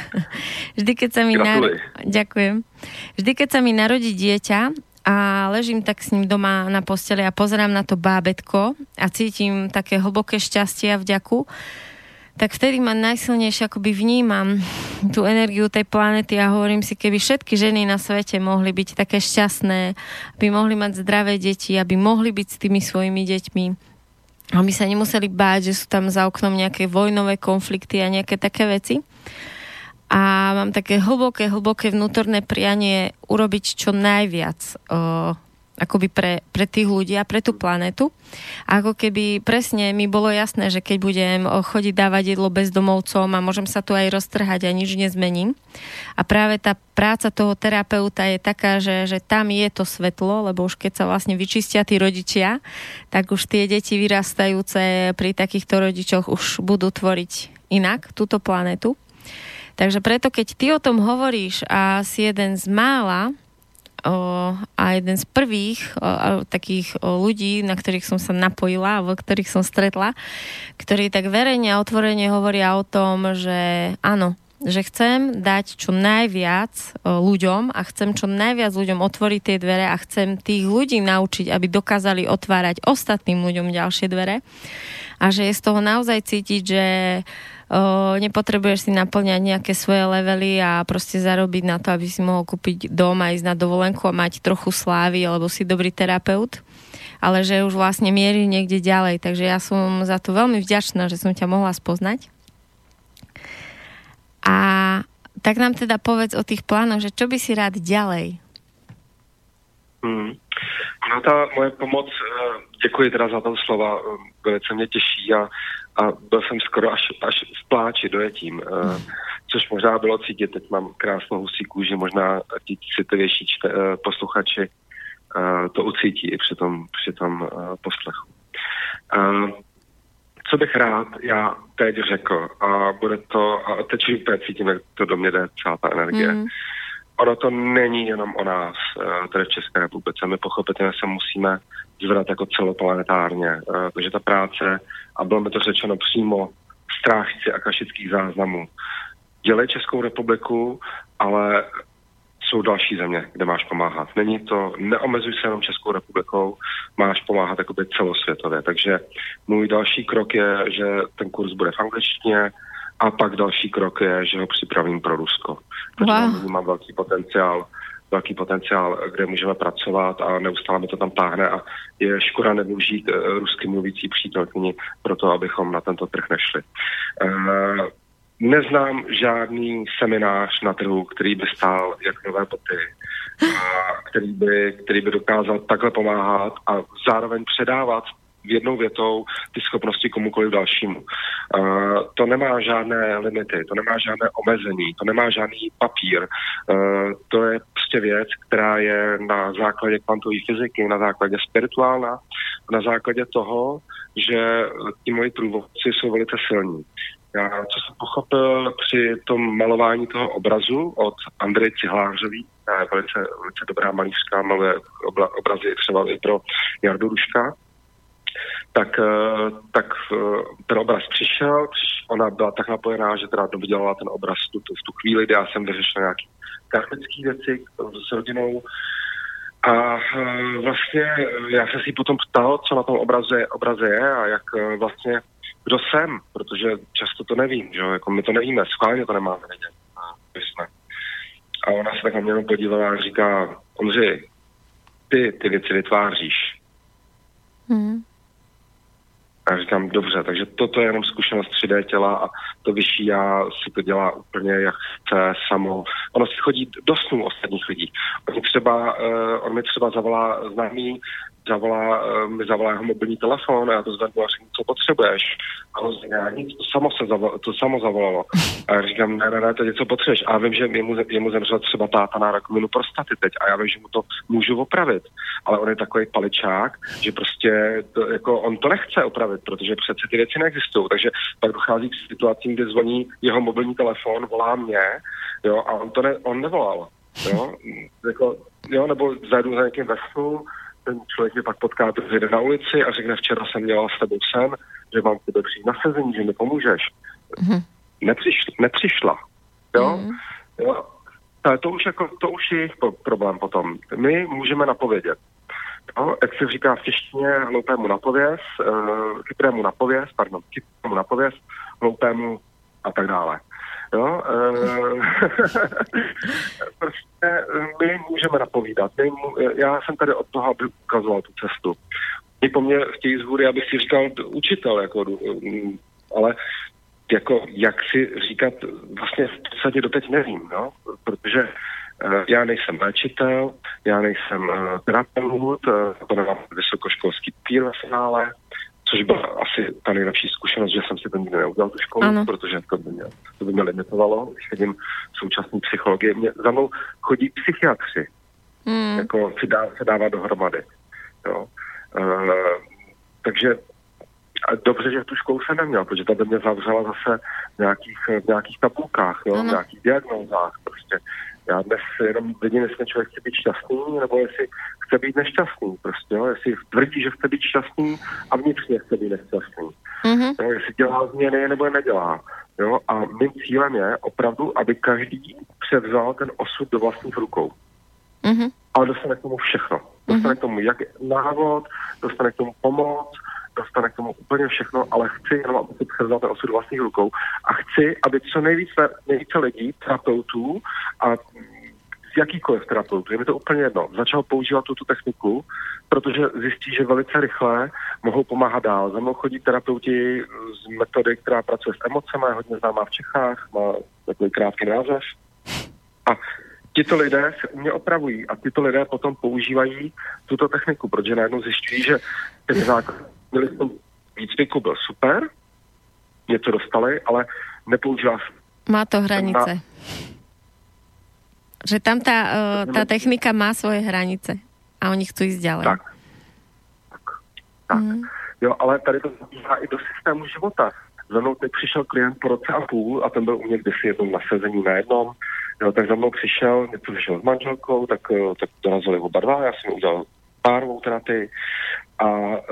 sa mi narodí dieťa a ležím tak s ním doma na posteli a pozerám na to bábätko a cítim také hlboké šťastie a vďaku, tak vtedy ma najsilnejšie akoby vnímam tú energiu tej planety a hovorím si, keby všetky ženy na svete mohli byť také šťastné, aby mohli mať zdravé deti, aby mohli byť s tými svojimi deťmi, aby sa nemuseli báť, že sú tam za oknom nejaké vojnové konflikty a nejaké také veci. A mám také hlboké vnútorné prianie urobiť čo najviac akoby pre tých ľudí a pre tú planetu. A ako keby presne mi bolo jasné, že keď budem chodiť dávať jedlo bezdomovcom a môžem sa tu aj roztrhať a nič nezmením. A práve tá práca toho terapeuta je taká, že tam je to svetlo, lebo už keď sa vlastne vyčistia tí rodičia, tak už tie deti vyrastajúce pri takýchto rodičoch už budú tvoriť inak túto planetu. Takže preto, keď ty o tom hovoríš a si jeden z mála a jeden z prvých takých ľudí, na ktorých som sa napojila, alebo ktorých som stretla, ktorí tak verejne a otvorene hovoria o tom, že áno, že chcem dať čo najviac ľuďom a chcem čo najviac ľuďom otvoriť tie dvere a chcem tých ľudí naučiť, aby dokázali otvárať ostatným ľuďom ďalšie dvere a že je z toho naozaj cítiť, že nepotrebuješ si naplňať nejaké svoje levely a proste zarobiť na to, aby si mohol kúpiť dom a ísť na dovolenku a mať trochu slávy, alebo si dobrý terapeut, ale že už vlastne mierí niekde ďalej. Takže ja som za to veľmi vďačná, že som ťa mohla spoznať. A tak nám teda povedz o tých plánoch, že čo by si rád ďalej? No ta moje pomoc, děkuji teda za to slova, velice mě těší a byl jsem skoro až v pláči dojetím, což možná bylo cítit, teď mám krásnou husí kůži, možná ti citovější posluchači to ucítí i při tom poslechu. Co bych rád já teď řekl, a bude to, a teď úplně cítím, jak to do mě jde celá ta energie. Ono to není jenom o nás, tady v České republice. My pochopitelně se musíme zvedat jako celoplanetárně, protože ta práce, a bylo mi to řečeno přímo strážci akašických záznamů, dělej Českou republiku, ale jsou další země, kde máš pomáhat. Neomezuj se jenom Českou republikou, máš pomáhat jakoby celosvětově. Takže můj další krok je, že ten kurz bude v angličtině, a pak další krok je, že ho připravím pro Rusko. Protože mám velký potenciál, kde můžeme pracovat a neustále mi to tam táhne a je škoda nevyužít rusky mluvící přítelkyni pro to, abychom na tento trh nešli. Neznám žádný seminář na trhu, který by stál jak nové boty, který by dokázal takhle pomáhat a zároveň předávat jednou větou ty schopnosti komukoliv dalšímu. To nemá žádné limity, to nemá žádné omezení, to nemá žádný papír. To je prostě věc, která je na základě kvantové fyziky, na základě spirituálna, na základě toho, že ti moji průvodci jsou velice silní. Já, co jsem pochopil při tom malování toho obrazu od Andreje Cihlářový, která je velice dobrá malířka, maluje obrazy třeba i pro Jardu Ruška, tak ten obraz přišel, ona byla tak napojená, že teda dodělala ten obraz v tu chvíli, kdy já jsem vyřešil nějaké karmické věci s rodinou a vlastně já jsem si potom ptal, co na tom obraze je a jak vlastně, kdo jsem, protože často to nevím, že jako my to nevíme, schválně to nemáme vědět. A ona se tak na mě jenom podívala a říká, Ondřej, ty věci vytváříš. A říkám, dobře, takže toto je jenom zkušenost 3D těla a to vyšší já si to dělá úplně jak chce samo. Ono si chodí do snů ostatních lidí. On mi třeba zavolá známý mi zavolá jeho mobilní telefon a já to zvednu a řeknu, co potřebuješ. A on říká, nic, to samo zavolalo. A já říkám, ne, teď co potřebuješ. A já vím, že jemu zemřel třeba táta na rakovinu prostaty teď a já vím, že mu to můžu opravit. Ale on je takový paličák, že prostě on to nechce opravit, protože přece ty věci neexistují. Takže pak dochází k situacím, kde zvoní jeho mobilní telefon, volá mě, jo, a on nevolal. Jo, nebo zajdu za někým veslu, ten člověk mě pak potká, jde na ulici a řekne, včera jsem měla s tebou sen, že mám k tebe přijít na sezení, že mi pomůžeš. Nepřišla. Jo? Jo? To už je jejich problém potom. My můžeme napovědět. Jo? Jak se říká v češtině, hloupému napověz, chytrému napověz, hloupému a tak dále. Jo? Prostě my můžeme napovídat. Já jsem tady od toho, aby ukazoval tu cestu. Oni po mně chtějí z hůry, abych si říkal učitel, ale jak si říkat, vlastně v podstatě doteď nevím, no? Protože já nejsem léčitel, já nejsem terapeut, to nemám vysokoškolský papír ve finále, což byla asi ta nejlepší zkušenost, že jsem si to nikdy neudělal tu školu, ano. Protože to by mě limitovalo, když chodím současný psychologie. Za mnou chodí psychiatři, se dává dohromady. Jo. Takže dobře, že tu školu jsem neměl, protože ta by mě zavřela zase v nějakých tabulkách, jo, v nějakých diagnózách. Prostě já dnes jenom vidím, jestli člověk chce být šťastný, nebo jestli chce být nešťastný. Prostě, jo, jestli tvrdí, že chce být šťastný a vnitřně chce být nešťastný. Jo, jestli dělá změny, nebo je nedělá. Jo, a mým cílem je opravdu, aby každý převzal ten osud do vlastních rukou. Ale dostane k tomu všechno. Dostane k tomu jak návod, dostane k tomu pomoc, dostane k tomu úplně všechno, ale chci jenom, aby si převzal ten osud do vlastních rukou a chci, aby co nejvíce lidí, terapeutů a z jakýkoliv terapeutů, je mi to úplně jedno, začal používat tu techniku, protože zjistí, že velice rychle mohou pomáhat dál. Za mnou chodí terapeuti z metody, která pracuje s emocemi, je hodně známá v Čechách, má takový krátký název. A tito lidé se u mě opravují a tito lidé potom používají tuto techniku, protože najednou zjišťují, že ten základ měli v tom výcviku byl super, něco dostali, ale nepoužívá se. Má to hranice. Že tam tá technika má svoje hranice a oni chcú ísť ďalej. Tak. Jo, ale tady to zabíhá i do systému života. Za mnou teď přišel klient po roce a půl a ten byl u mě kdysi jednou na sezení na jednom. Jo, tak za mnou přišel s manželkou, tak dorazili oba dva, já jsem udělal párovou terapii a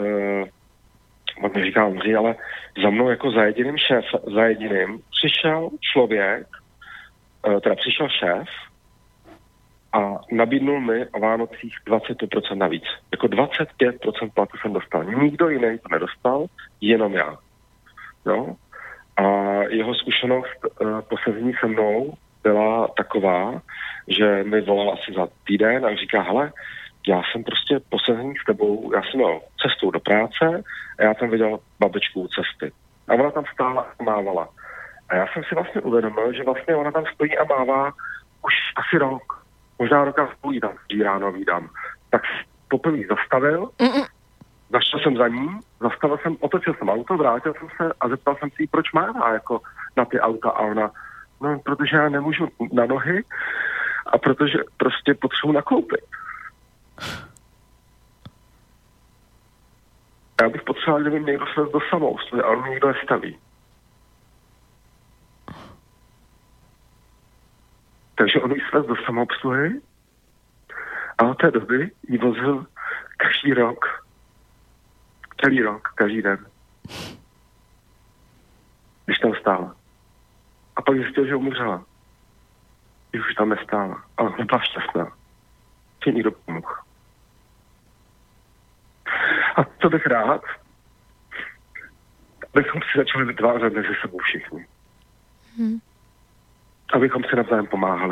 on mi říká, Ondřej, ale za mnou jako za jediným přišel člověk, přišel šéf a nabídnul mi o Vánocích 25% navíc. Jako 25% platu jsem dostal. Nikdo jiný to nedostal, jenom já. No? A jeho zkušenost po sezení se mnou byla taková, že mi volal asi za týden a říká, hele, já jsem prostě po sezení s tebou, já jsem měl cestou do práce a já tam viděl babičku u cesty. A ona tam stála a mávala. A já jsem si vlastně uvědomil, že vlastně ona tam stojí a mává už asi rok. Možná roka spůlí tam, když ráno vídám. Tak poprvé zastavil, zašel jsem za ní, otočil jsem auto, vrátil jsem se a zeptal jsem si jí, proč mává jako na ty auta a ona, no, protože já nemůžu na nohy a protože prostě potřebuji nakoupit. Já bych potřeboval, kdyby někdo svést do samoobsluhy, ale mě nikdo nestaví. Takže on jí svést do samoobsluhy a od té doby jí vozil celý rok, každý den. Když tam stála. A pak zjistil, že umřela. Když už tam nestála. Ale byla šťastná. Že někdo pomohl. A co bych rád, abychom si začali vytvářet mezi sebou všichni. Abychom si navzájem pomáhali.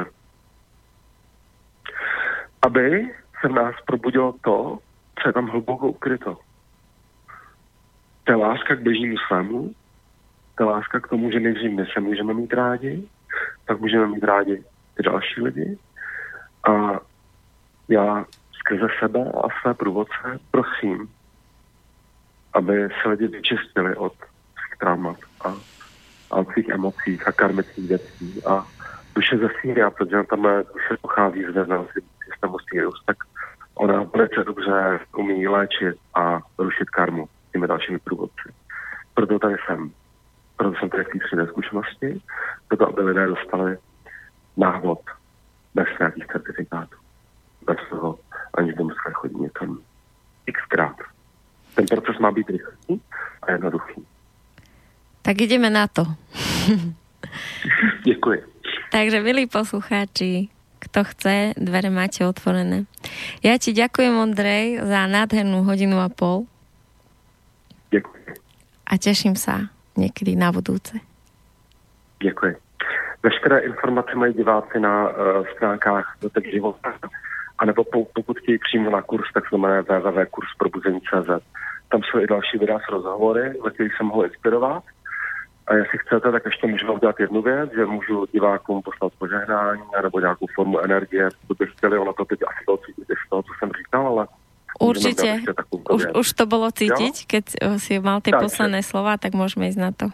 Aby se v nás probudilo to, co je tam hluboko ukryto. To je láska k bližnímu svému, to je láska k tomu, že nejdřív my se můžeme mít rádi, tak můžeme mít rádi ty další lidi. A já skrze sebe a své průvodce prosím, aby se lidi vyčistili od svých traumat a od svých emocí a karmických věcí a duše ze Sýria, protože tam duše pochází z vězného systému Sirius, tak ona velice dobře umí léčit a rušit karmu těmi dalšími průvodci. Proto tady jsem. Proto jsem tady v té 3D zkušenosti, proto aby lidé dostali návod bez nějakých certifikátů. Bez toho, aniž by museli chodit někam xkrát. Ten proces má být rychlý a jednoduchý. Tak ideme na to. Děkuji. Takže, milí poslucháči, kto chce, dvere máte otvorené. Ja ti ďakujem, Ondrej, za nádhernú 1.5 hodiny. Děkuji. A teším sa niekedy na budúce. Děkuji. Veškeré informace mají diváci na stránkách Dotek života, anebo pokud chtějí přímo na kurz, tak se jmenuje www.kursprobuzení.cz. Tam jsou i další videa s rozhovory, ve kterých se mohou inspirovat. A jestli chcete, tak ještě můžu udělat jednu věc, že můžu divákům poslat požehnání nebo nějakou formu energie, co by chtěli, ono to teď asi bylo cítit z toho, co jsem říkal, ale určite. Už to bolo cítiť, jo? Keď si mal tie posledné slova, tak môžeme ísť na to.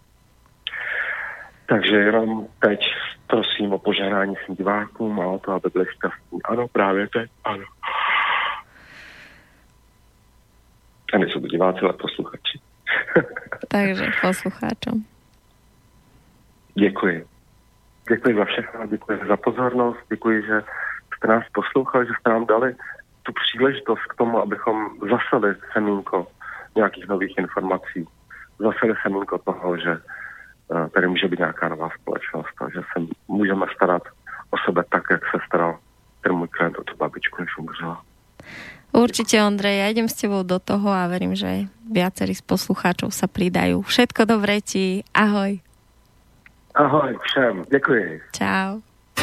Takže jenom teď prosím o požehnání svým divákům a o to, aby byli šťastní. Ano, právě teď, ano. A nejsou to diváci, ale posluchači. Takže poslucháčom. Děkuji. Děkuji za všechno, děkuji za pozornost, děkuji, že jste nás poslouchali, že jste nám dali tu příležitost k tomu, abychom zaseli semínko nějakých nových informací. Zaseli semínko toho, že tady může být nějaká nová společnost a že se můžeme starat o sebe tak, jak se staral ten můj klient o tu babičku, než umřela. Určite, Ondrej, ja idem s tebou do toho a verím, že viacerí z poslucháčov sa pridajú. Všetko dobré ti. Ahoj. Ahoj všem. Děkuji. Čau.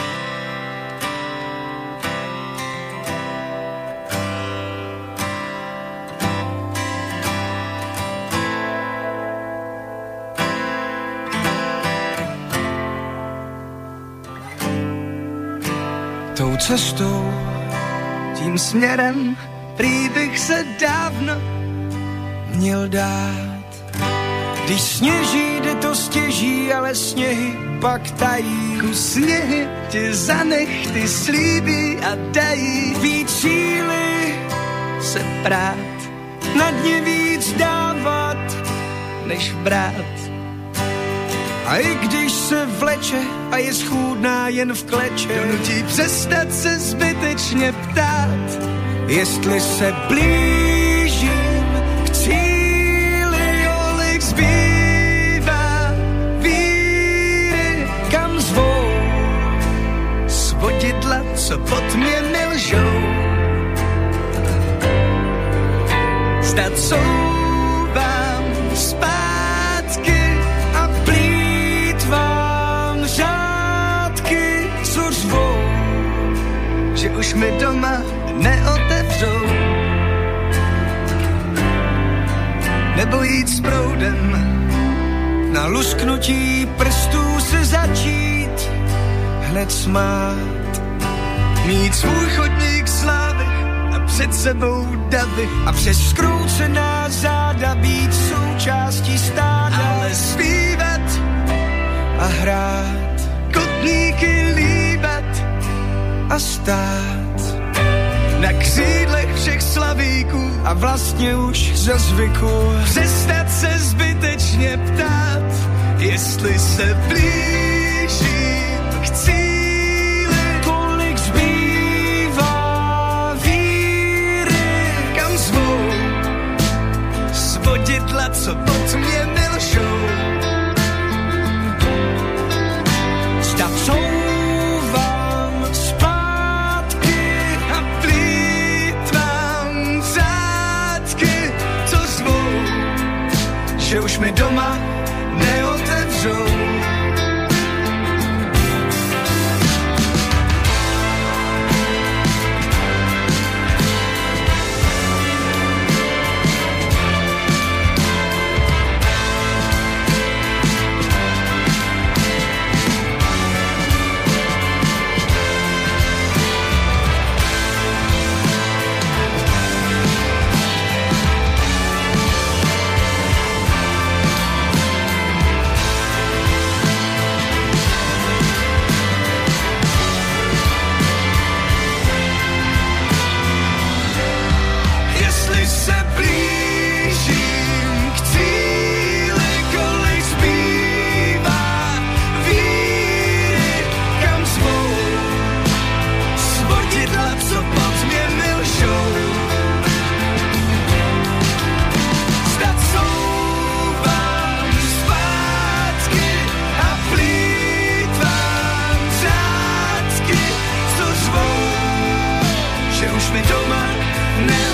Tou cestou, tím směrem, prý bych se dávno měl dát. Když sněží, jde to stěží, ale sněhy pak tají. Sněhy tě za nechty slíbí a dají víc síly se prát, na dně víc dávat, než brát. A i když se vleče a je schůdná jen v kleče, donutí přestat se zbytečně ptát, jestli se blížím k cíli, kolik zbývá víry, kam zvou svodidla, co pod mě nelžou. Zdat souvám zpátky a plýtvám řádky, co řvou, že už mi doma neotevřou. Nebo jít s proudem, na lusknutí prstů se začít hned smát. Mít svůj chodník slávy a před sebou davy a přes skroucená záda být součástí stáda. Ale zpívat a hrát, kotníky líbat a stát na křídlech všech slavíků a vlastně už za zvyku přestat se zbytečně ptát, jestli se blížím k cíli, kolik zbývá víry, kam zvou svodidla, co pod mě nelžou. Zda couvám zpátky a plýtvám řádky, co zvou, že už mi doma neotevřou. už mi doma neodchází.